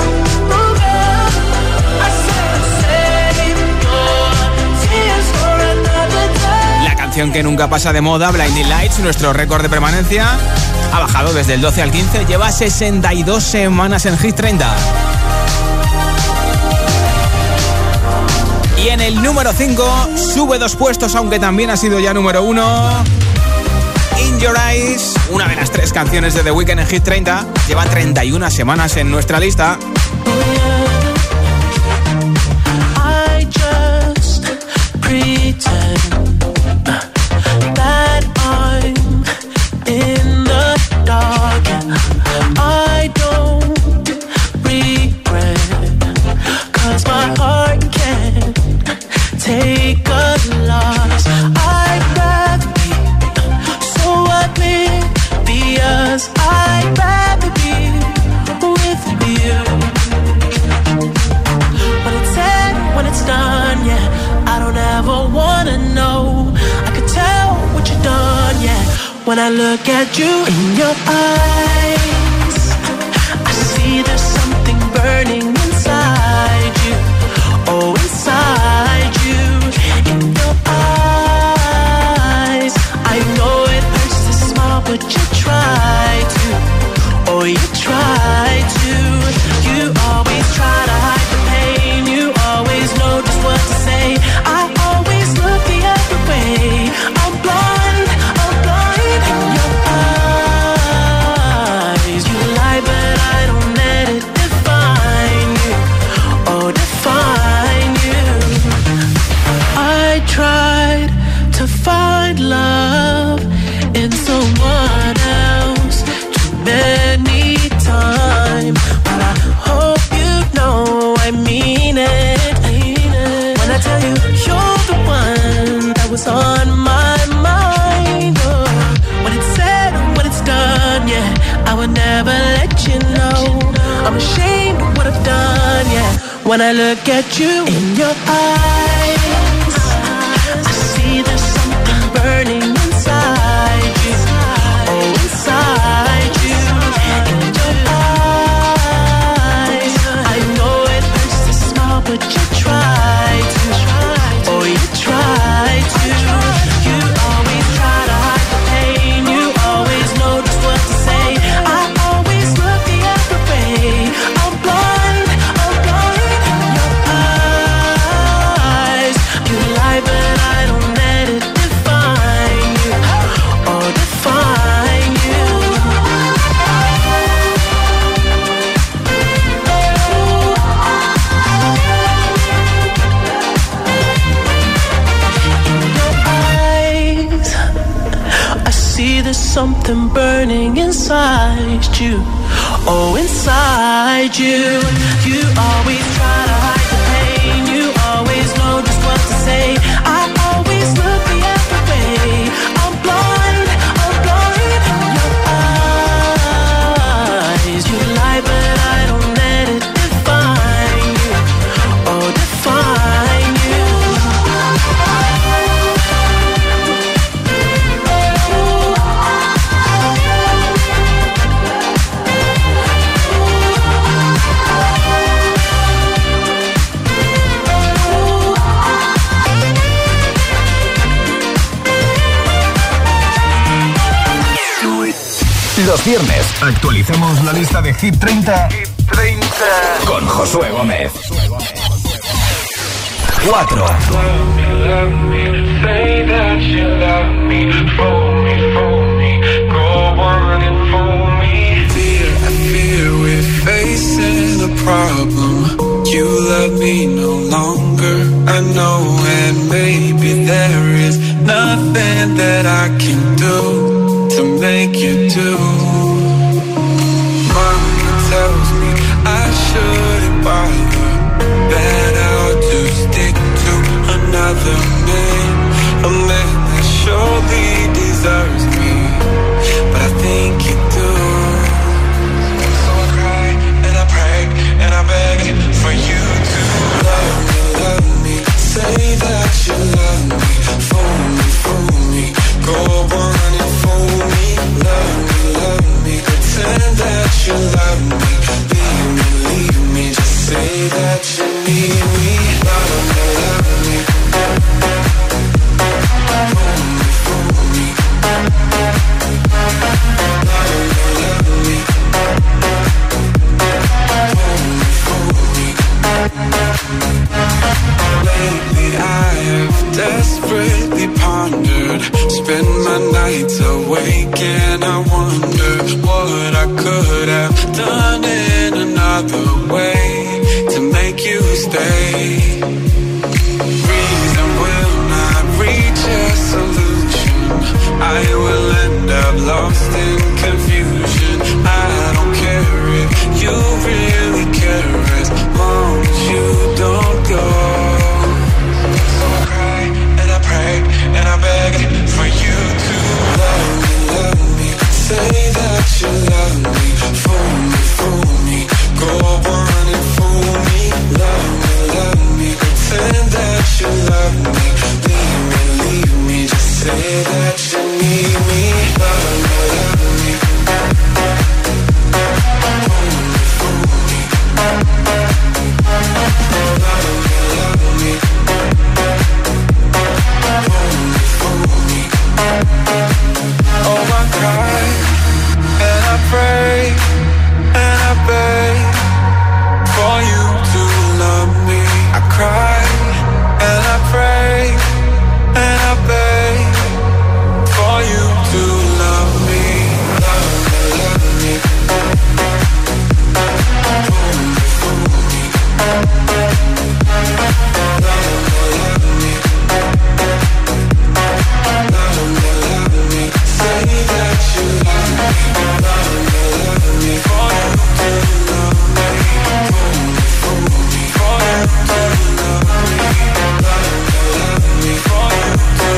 La canción que nunca pasa de moda, Blinding Lights, nuestro récord de permanencia, ha bajado desde el 12 al 15. Lleva 62 semanas en Hit 30. Y en el número 5 sube 2 puestos, aunque también ha sido ya número 1. In Your Eyes, una de las 3 canciones de The Weeknd en Hit 30. Lleva 31 semanas en nuestra lista. I just pretend that I'm in the dark. I don't regret, 'cause my heart can't take a loss. I'd rather be so oblivious. I'd rather be with you. When it's said, when it's done, yeah, I don't ever wanna know. I could tell what you've done, yeah, when I look at you. In your eyes, I see there's something burning inside you. Oh, inside you. In your eyes, I know it hurts to smile, but you try to. Oh, you try to. You always try to hide the pain. You always know just what to say. I always look the other way. I'm blind in your eyes. You lie, but I don't let it define you. Oh, define you. I tried to find love in someone else too many times, but I hope you know I mean it. When I tell you you're the one that was on my mind. Oh, when it's said, when it's done, yeah, I would never let you know. I'm ashamed of what I've done, yeah, when I look at you. In your eyes, I see there's something burning inside you. Oh, inside you. In your eyes, I know it hurts to smile, but you try to. Oh, you try to. You always try to hide the pain. You always know just what to say. I always look the other way. I'm blind in your eyes. You lie, but I don't let it define you. Oh, define you. In your eyes, I see there's something burning inside you. Oh, inside you. You always try to hide the pain. You always know just what to say. I always look the other way. I'm blind in your eyes. You lie, but I don't let it define you. Los viernes actualizamos la lista de Hit 30, con Josué Gómez. 4. Say that you love me, fool me, go on and fool me. I fear we're facing a problem. You love me no longer, I know, and maybe there is nothing that I can do to make you do. Mama tells me I shouldn't bother, that I'll just stick to another man, a man that surely deserves me, but I think you do. So I cry and I pray and I beg for you to love me, say that you love me, fool me, go on and fool me, love me, pretend that you love me, leave me, just say that you need me, love me, fool me, lately I have desperately pondered, spend my nights awake and I wonder what I could have done in another way to make you stay. Reason will not reach a solution, I will end up lost in confusion. I don't care if you really care as long as you don't go. So I cry and I pray and I beg for you to love me, say that you love me, fool me, go on and fool me, love me, pretend that you love me, leave me, just say that you need me, love me, fool me, oh I cry and I pray and I beg for you to love me. I cry and I pray and I beg for you to love me, love me, say that you love me, for you to love me, for you to love me, for you to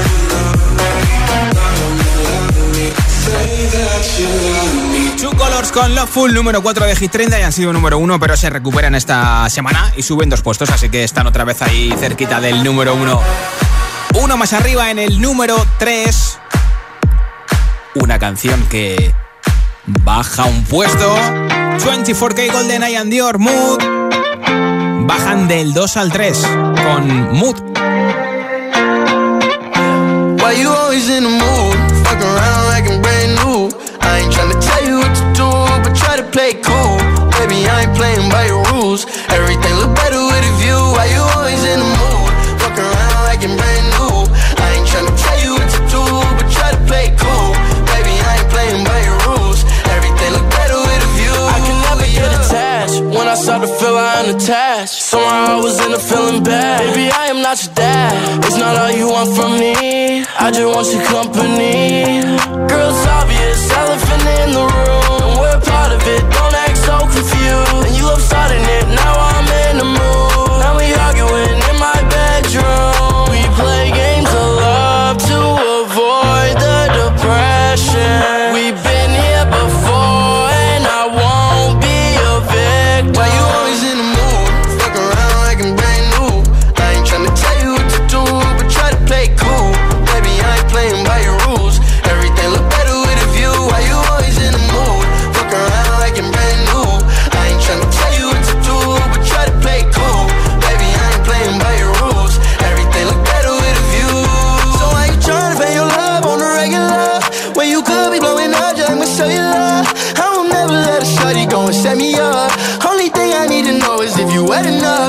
love me, say that you love me. Two Colors con Loveful, número 4 de Hit 30, y han sido número 1, pero se recuperan esta semana y suben 2 puestos, así que están otra vez ahí cerquita del número 1. Uno más arriba en el número 3. Una canción que baja un puesto. 24K GoldenEye and Dior, Mood. Bajan del 2 al 3 con Mood. Why you always in the mood? Fuck around like I'm brand new. I ain't tryna tell you what to do, but try to play cool. Baby, I ain't playing by your rules. Everything look better with a view. Why you always in the mood? Fuck around like I'm brand new. I ain't tryna tell you what to do, but try to play cool. Baby, I ain't playing by your rules. Everything look better with a view. I can never get attached. When I start to feel I am attached, somehow I was in a feeling bad. Baby, I am not your dad. It's not all you want from me. I just want your company. Girl, it's obvious, elephant in the room, and we're part of it. Don't act so confused. And you love starting it. Now I'm in the mood. Now we arguing in my bedroom. We play games of love to avoid the depression. We've been here before, and I won't be a victim. Why you always in the mood? Fuck around like I'm brand new. I ain't tryna tell you what to do, but try to play cool. Baby, I ain't playing by your rules. Everything look better with a view.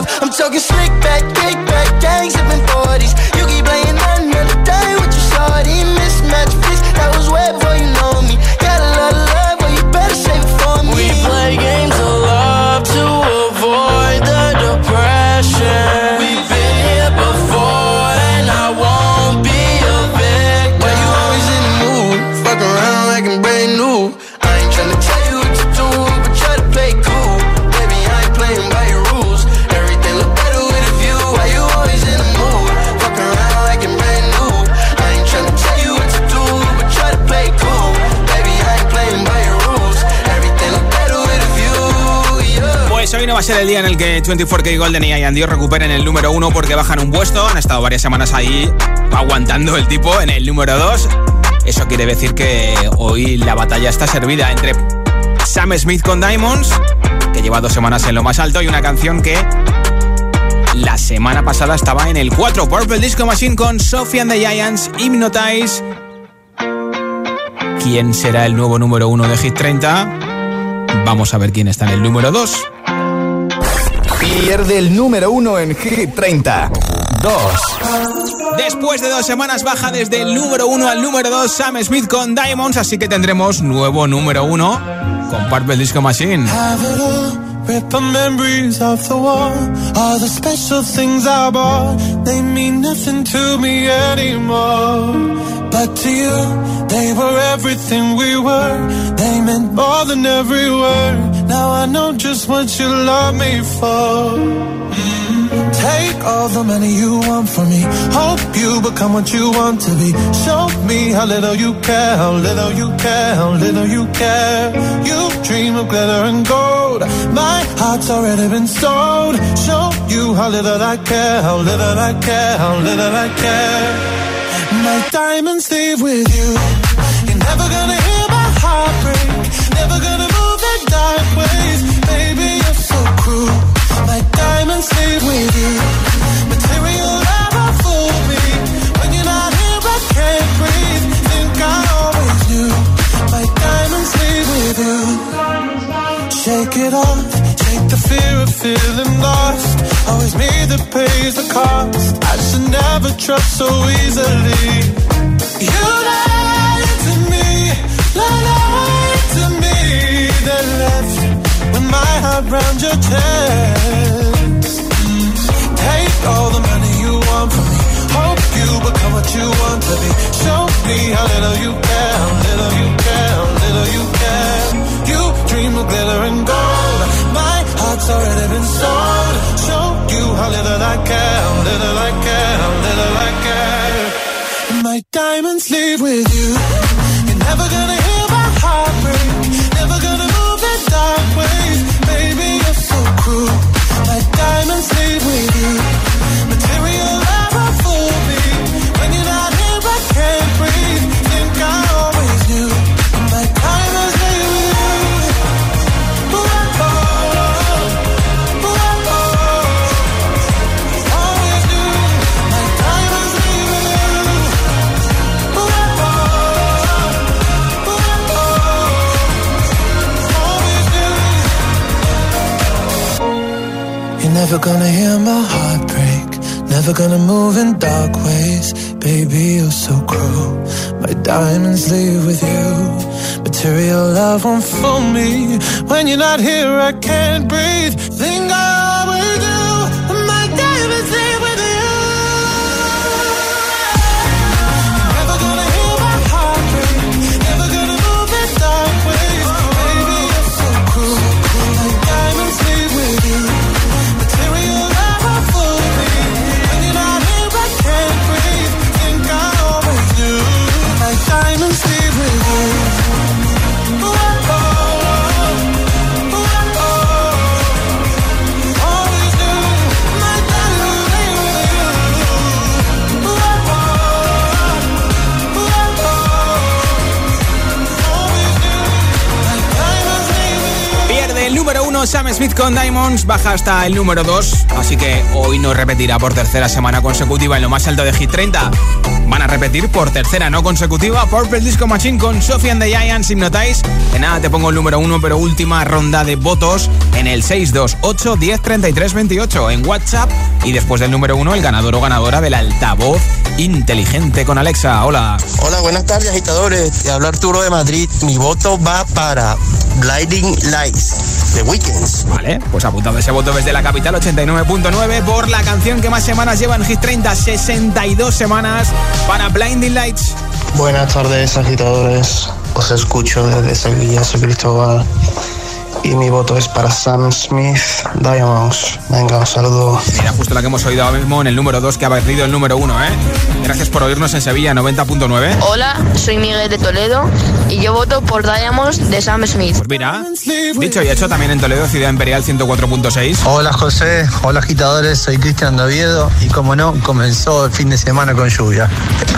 love. I'm talking slick back, kick back, gang sipping 40s. You keep playing another day with your shorty. Mismatch fix, that was way before you know me. Got a lot of love, but you better save it for me. We play games of love to avoid the depression. We've been here before and I won't be a victim. Why you always in the mood? Fuck around like I'm brand new. I ain't tryna tell you what to do, but try to play cool. Baby, I ain't playing by your rules. Everything look better with a view. Why you always in the mood? Fuck around like I'm brand new. I ain't tryna tell you what to do, but try to play cool. Baby, I ain't playing by your rules. Everything look better with a view, yeah. Pues hoy no va a ser el día en el que 24K Golden y Ian Dior recuperen el número 1 porque bajan un puesto. Han estado varias semanas ahí aguantando el tipo en el número 2. Eso quiere decir que hoy la batalla está servida entre Sam Smith con Diamonds, que lleva 2 semanas en lo más alto, y una canción que la semana pasada estaba en el 4, Purple Disco Machine con Sophie and the Giants, Hypnotize. ¿Quién será el nuevo número 1 de Hit 30? Vamos a ver quién está en el número 2. Pierde el número 1 en Hit 30. 2. Después de 2 semanas baja desde el número 1 al número 2 Sam Smith con Diamonds, así que tendremos nuevo número 1 con Purple Disco Machine. Rip the memories of the war. All the special things I bought, they mean nothing to me anymore. But to you, they were everything we were. They meant more than every word. Now I know just what you love me for. Take all the money you want from me. Hope you become what you want to be. Show me how little you care, how little you care, how little you care. You dream of glitter and gold. My heart's already been sold. Show you how little I care, how little I care, how little I care. My diamonds leave with you. You're never gonna hear my heart break. Never gonna move in dark ways. Baby, you're so cruel. My diamonds leave with you. Material never fool me. When you're not here, I can't breathe. Think I always knew. My diamonds leave with you. Shake it off. Take the fear of feeling lost. Always me that pays the cost. I should never trust so easily. You lied to me. Lied to me. Then left with my heart round your chest. Take all the money you want from me. Hope you become what you want to be. Show me how little you care, how little you care, how little you care. You dream of glitter and gold. My heart's already been sold. Show you how little I care, how little I care, how little I care. My diamonds leave with you. You're never gonna hear my heart break. Never gonna move in dark ways. Baby, you're so cruel. My diamonds leave with you. Material never fool me. When you're not here, I can't breathe. Think I always knew. My diamonds leave with you. Ooh, oh, ooh, oh, always knew. My diamonds leave with you. Ooh, oh, always knew. You're never gonna hear my heart break. Never gonna move in dark ways. Baby, you're so cruel. My diamonds leave with you. Material love won't fool me. When you're not here, I can't breathe. Think I always do. My diamonds leave with you. Never gonna hear my heart break. Never gonna move in dark ways. Baby, you're so cruel. My diamonds leave with you. Material love won't fool me. When you're not here, I can't breathe. Think I always knew. My diamonds leave with you. Ooh, oh, ooh, oh, Del número 1, Sam Smith con Diamonds baja hasta el número 2. Así que hoy no repetirá por tercera semana consecutiva en lo más alto de Hit 30. Van a repetir por tercera no consecutiva Purple Disco Machine con Sophie and the Giants, Hypnotize. De nada, te pongo el número 1, pero última ronda de votos en el 628 10 33 28 en WhatsApp. Y después del número 1, el ganador o ganadora del altavoz inteligente con Alexa. Hola. Hola, buenas tardes, agitadores. Te habla Arturo de Madrid. Mi voto va para Blinding Lights de Weeknd. Vale, pues apuntado ese voto desde la capital, 89.9 por la canción que más semanas lleva en Hit 30, 62 semanas para Blinding Lights. Buenas tardes, agitadores. Os escucho desde Sevilla, soy Cristóbal. Y mi voto es para Sam Smith, Diamonds. Venga, un saludo. Mira, justo la que hemos oído ahora mismo en el número 2, que ha perdido el número 1, ¿eh? Gracias por oírnos en Sevilla, 90.9. Hola, soy Miguel de Toledo y yo voto por Diamonds de Sam Smith. Pues mira, dicho y hecho, también en Toledo, Ciudad Imperial 104.6. Hola, José. Hola, agitadores. Soy Cristian de Oviedo y, como no, comenzó el fin de semana con lluvia.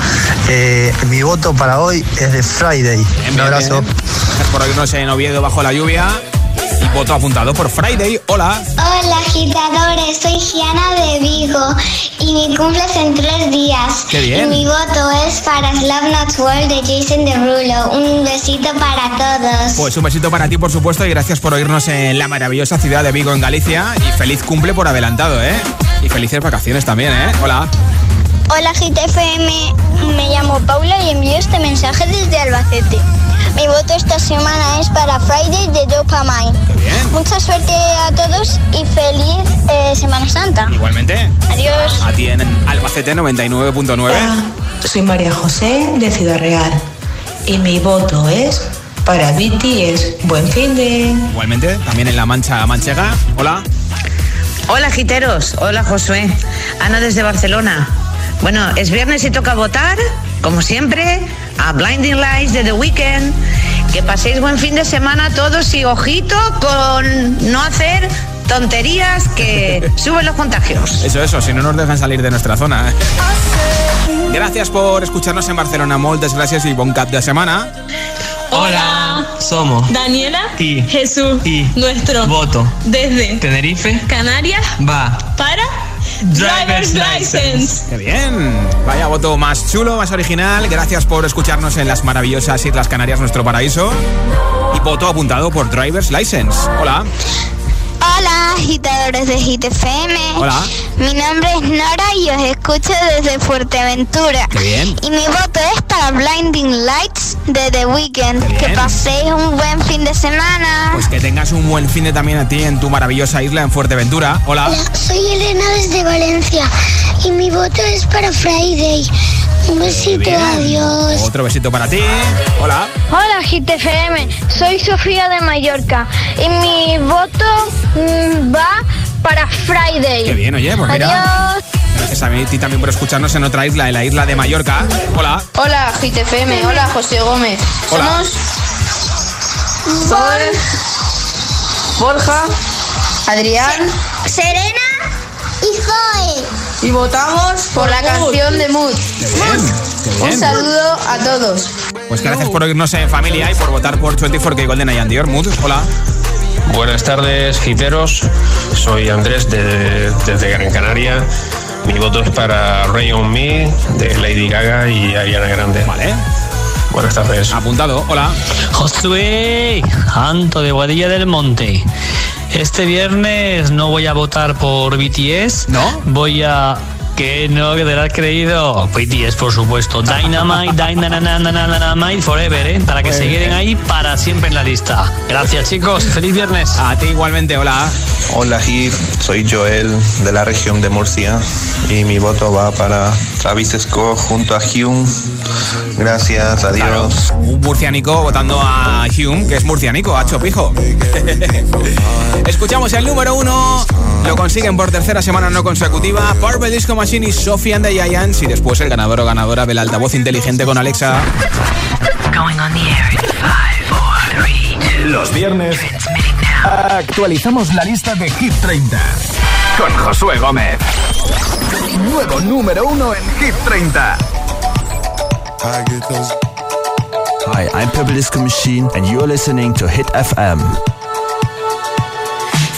Mi voto para hoy es de Friday. Un abrazo. Gracias por oírnos en Oviedo bajo la lluvia. Y voto apuntado por Friday. Hola. Hola, agitadores. Soy Giana de Vigo y mi cumple es en 3 días. ¡Qué bien! Y mi voto es para Love Not World de Jason Derulo. Un besito para todos. Pues un besito para ti, por supuesto, y gracias por oírnos en la maravillosa ciudad de Vigo, en Galicia. Y feliz cumple por adelantado, ¿eh? Y felices vacaciones también, ¿eh? Hola. Hola, GTFM. Me llamo Paula y envío este mensaje desde Albacete. Mi voto esta semana es para Friday de Dopamine. Bien. Mucha suerte a todos y feliz Semana Santa. Igualmente. Adiós. A ti en Albacete 99.9. Hola, soy María José de Ciudad Real y mi voto es para BTS. Buen fin de... Igualmente, también en la Mancha Manchega. Hola. Hola, giteros. Hola, Josué. Ana desde Barcelona. Bueno, es viernes y toca votar, como siempre, a Blinding Lights de The Weeknd. Que paséis buen fin de semana todos y ojito con no hacer tonterías que suben los contagios. Eso, si no nos dejan salir de nuestra zona. Gracias por escucharnos en Barcelona. Moltes gracias y bon cap de semana. Hola, somos Daniela y Jesús y nuestro voto desde Tenerife Canarias va para Driver's License. ¡Qué bien! Vaya voto más chulo, más original. Gracias por escucharnos en las maravillosas Islas Canarias, nuestro paraíso. Y voto apuntado por Driver's License. Hola. Hola, agitadores de Hit FM. Hola. Mi nombre es Nora y os escucho desde Fuerteventura. ¡Qué bien! Y mi voto es para Blinding Lights de The Weeknd. Que paséis un buen fin de semana. Pues que tengas un buen fin de también a ti en tu maravillosa isla en Fuerteventura. Hola. Hola, soy Elena desde Valencia y mi voto es para Friday. Un besito, adiós. Otro besito para ti. Hola. Hola, Hit FM. Soy Sofía de Mallorca y mi voto va para Friday. Qué bien, oye, pues mira. Adiós. Gracias a ti también por escucharnos en otra isla, en la isla de Mallorca. Hola. Hola, Hit FM. Hola, José Gómez. Hola. Somos Borja, Adrián, Serena y Zoe. y votamos por la canción de Mood. Qué bien, qué bien. Un saludo a todos. Pues gracias por oírnos en familia y por votar por 24K GoldenEye and Dior. Mood, hola. Buenas tardes, giteros. Soy Andrés desde Gran Canaria. Mi voto es para Rain on Me de Lady Gaga y Ariana Grande. Vale. Buenas tardes. Apuntado, hola. Josué, Anto de Guadilla del Monte. Este viernes no voy a votar por BTS. ¿No? Voy a... Que no, que te lo has creído. BTS, por supuesto. Dynamite Forever, ¿eh? Para que se queden ahí para siempre en la lista. Gracias, chicos. Feliz viernes. A ti igualmente, hola. Hola, Hit. Soy Joel de la región de Murcia y mi voto va para Travis Scott junto a Hume. Gracias, adiós. Claro, un murcianico votando a Hume, que es murcianico, a Chopijo. Escuchamos el número 1. Lo consiguen por tercera semana no consecutiva Purple Disco Machine y Sophie and the Giants. Y después el ganador o ganadora del altavoz inteligente con Alexa. Going on the air in 5, 4, 3, 2. Los viernes actualizamos la lista de Hit 30 con Josué Gómez. Nuevo número 1 en Hit 30. Hi, I'm Purple Disco Machine and you're listening to Hit FM.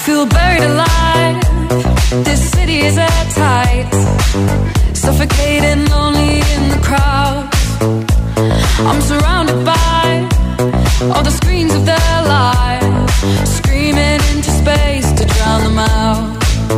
feel buried alive. This city is airtight, suffocating, lonely in the crowd. I'm surrounded by all the screens of their lives, screaming into space to drown them out.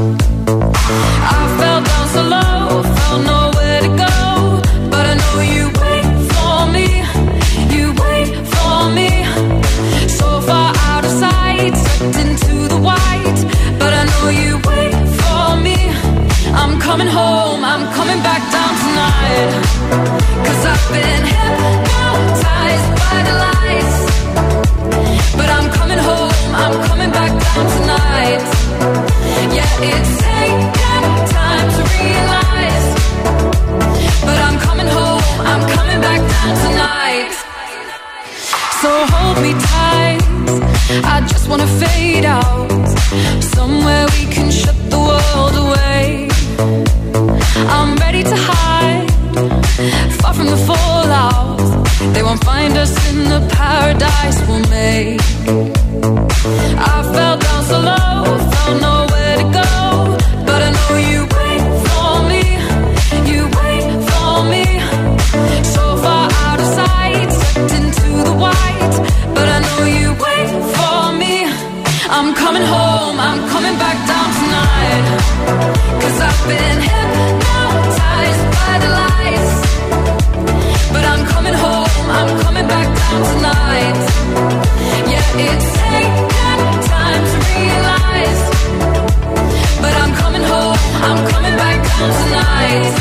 I fell down so low, felt nowhere to go, but I know you wait for me, you wait for me. So far out of sight, sucked into the white, but I know you wait for me. I'm coming home, I'm coming back down tonight, 'cause I've been hypnotized by the lights. But I'm coming home, I'm coming back down tonight. Yeah, it's taken time to realize, but I'm coming home, I'm coming back down tonight. So hold me tight, I just wanna fade out, somewhere we can shut the world away. I'm ready to hide, far from the fallout. They won't find us in the paradise we'll make. I fell down so low, felt nowhere to go, but I know you wait for me, you wait for me. So far out of sight, sucked into the white, but I know you wait for me. I'm coming home, I'm coming back down tonight, 'cause I've been hypnotized by the lights. But I'm coming home, I'm coming back down tonight. Yeah, it's taken time to realize, but I'm coming home, I'm coming back down tonight.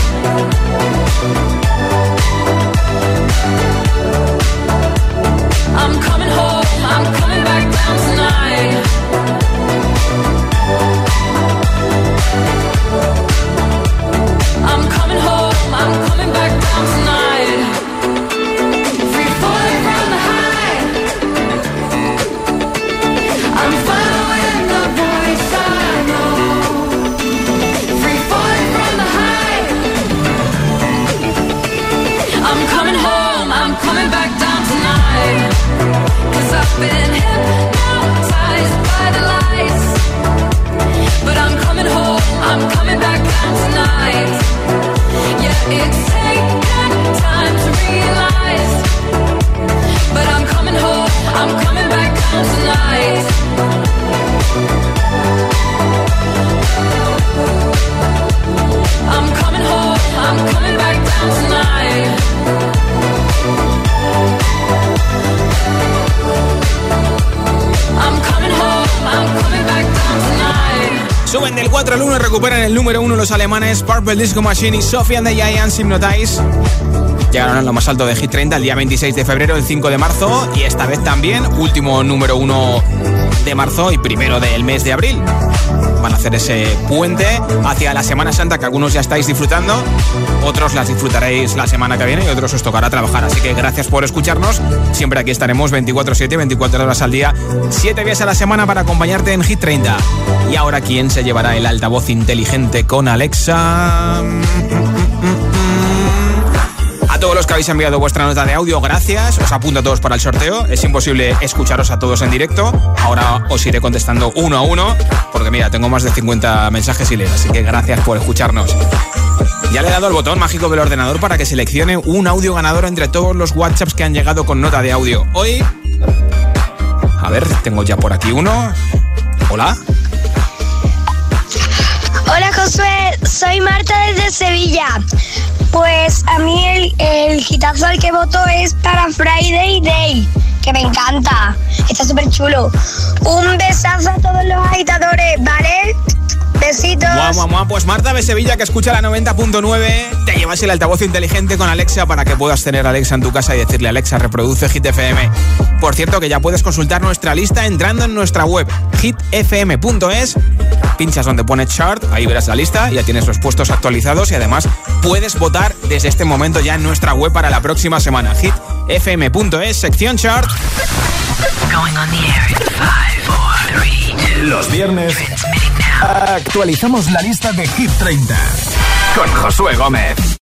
I'm coming home, I'm coming back down tonight. I'm coming home, I'm coming back down tonight. Free falling from the high, I'm following the voice I know. Free falling from the high, I'm coming home, I'm coming back down tonight, 'cause I've been hypnotized by the lights. But I'm coming home, I'm coming back down tonight. Yeah, it's taken time to realize, but I'm coming home, I'm coming back down tonight. I'm coming home, I'm coming back down tonight. I'm coming home, I'm coming back down tonight. Suben del 4 al 1 y recuperan el número 1 los alemanes Purple Disco Machine y Sophie and the Giants Hypnotize. Llegaron a lo más alto de Hit 30 el día 26 de febrero, el 5 de marzo y esta vez también último número 1 de marzo y primero del mes de abril. Van a hacer ese puente hacia la Semana Santa que algunos ya estáis disfrutando, otros las disfrutaréis la semana que viene y otros os tocará trabajar. Así que gracias por escucharnos. Siempre aquí estaremos 24/7, 24 horas al día, 7 días a la semana para acompañarte en Hit 30. Y ahora, ¿quién se llevará el altavoz inteligente con Alexa? A todos los que habéis enviado vuestra nota de audio, gracias. Os apunto a todos para el sorteo. Es imposible escucharos a todos en directo. Ahora os iré contestando uno a uno, porque mira, tengo más de 50 mensajes sin leer, así que gracias por escucharnos. Ya le he dado el botón mágico del ordenador para que seleccione un audio ganador entre todos los WhatsApps que han llegado con nota de audio. Hoy, a ver, tengo ya por aquí uno. Hola. Hola Josué, soy Marta desde Sevilla. Pues a mí el hitazo al que voto es para Friday Day, que me encanta, está súper chulo. Un besazo a todos los agitadores, ¿vale? Besitos. Pues Marta de Sevilla, que escucha la 90.9, te llevas el altavoz inteligente con Alexa para que puedas tener a Alexa en tu casa y decirle: Alexa, reproduce Hit FM. Por cierto, que ya puedes consultar nuestra lista entrando en nuestra web hitfm.es. Pinchas donde pone chart, ahí verás la lista, ya tienes los puestos actualizados y además puedes votar desde este momento ya en nuestra web para la próxima semana. hitfm.es, sección chart. Going on the air in 5, 4, 3, 2. Los viernes actualizamos la lista de Hit 30 con Josué Gómez.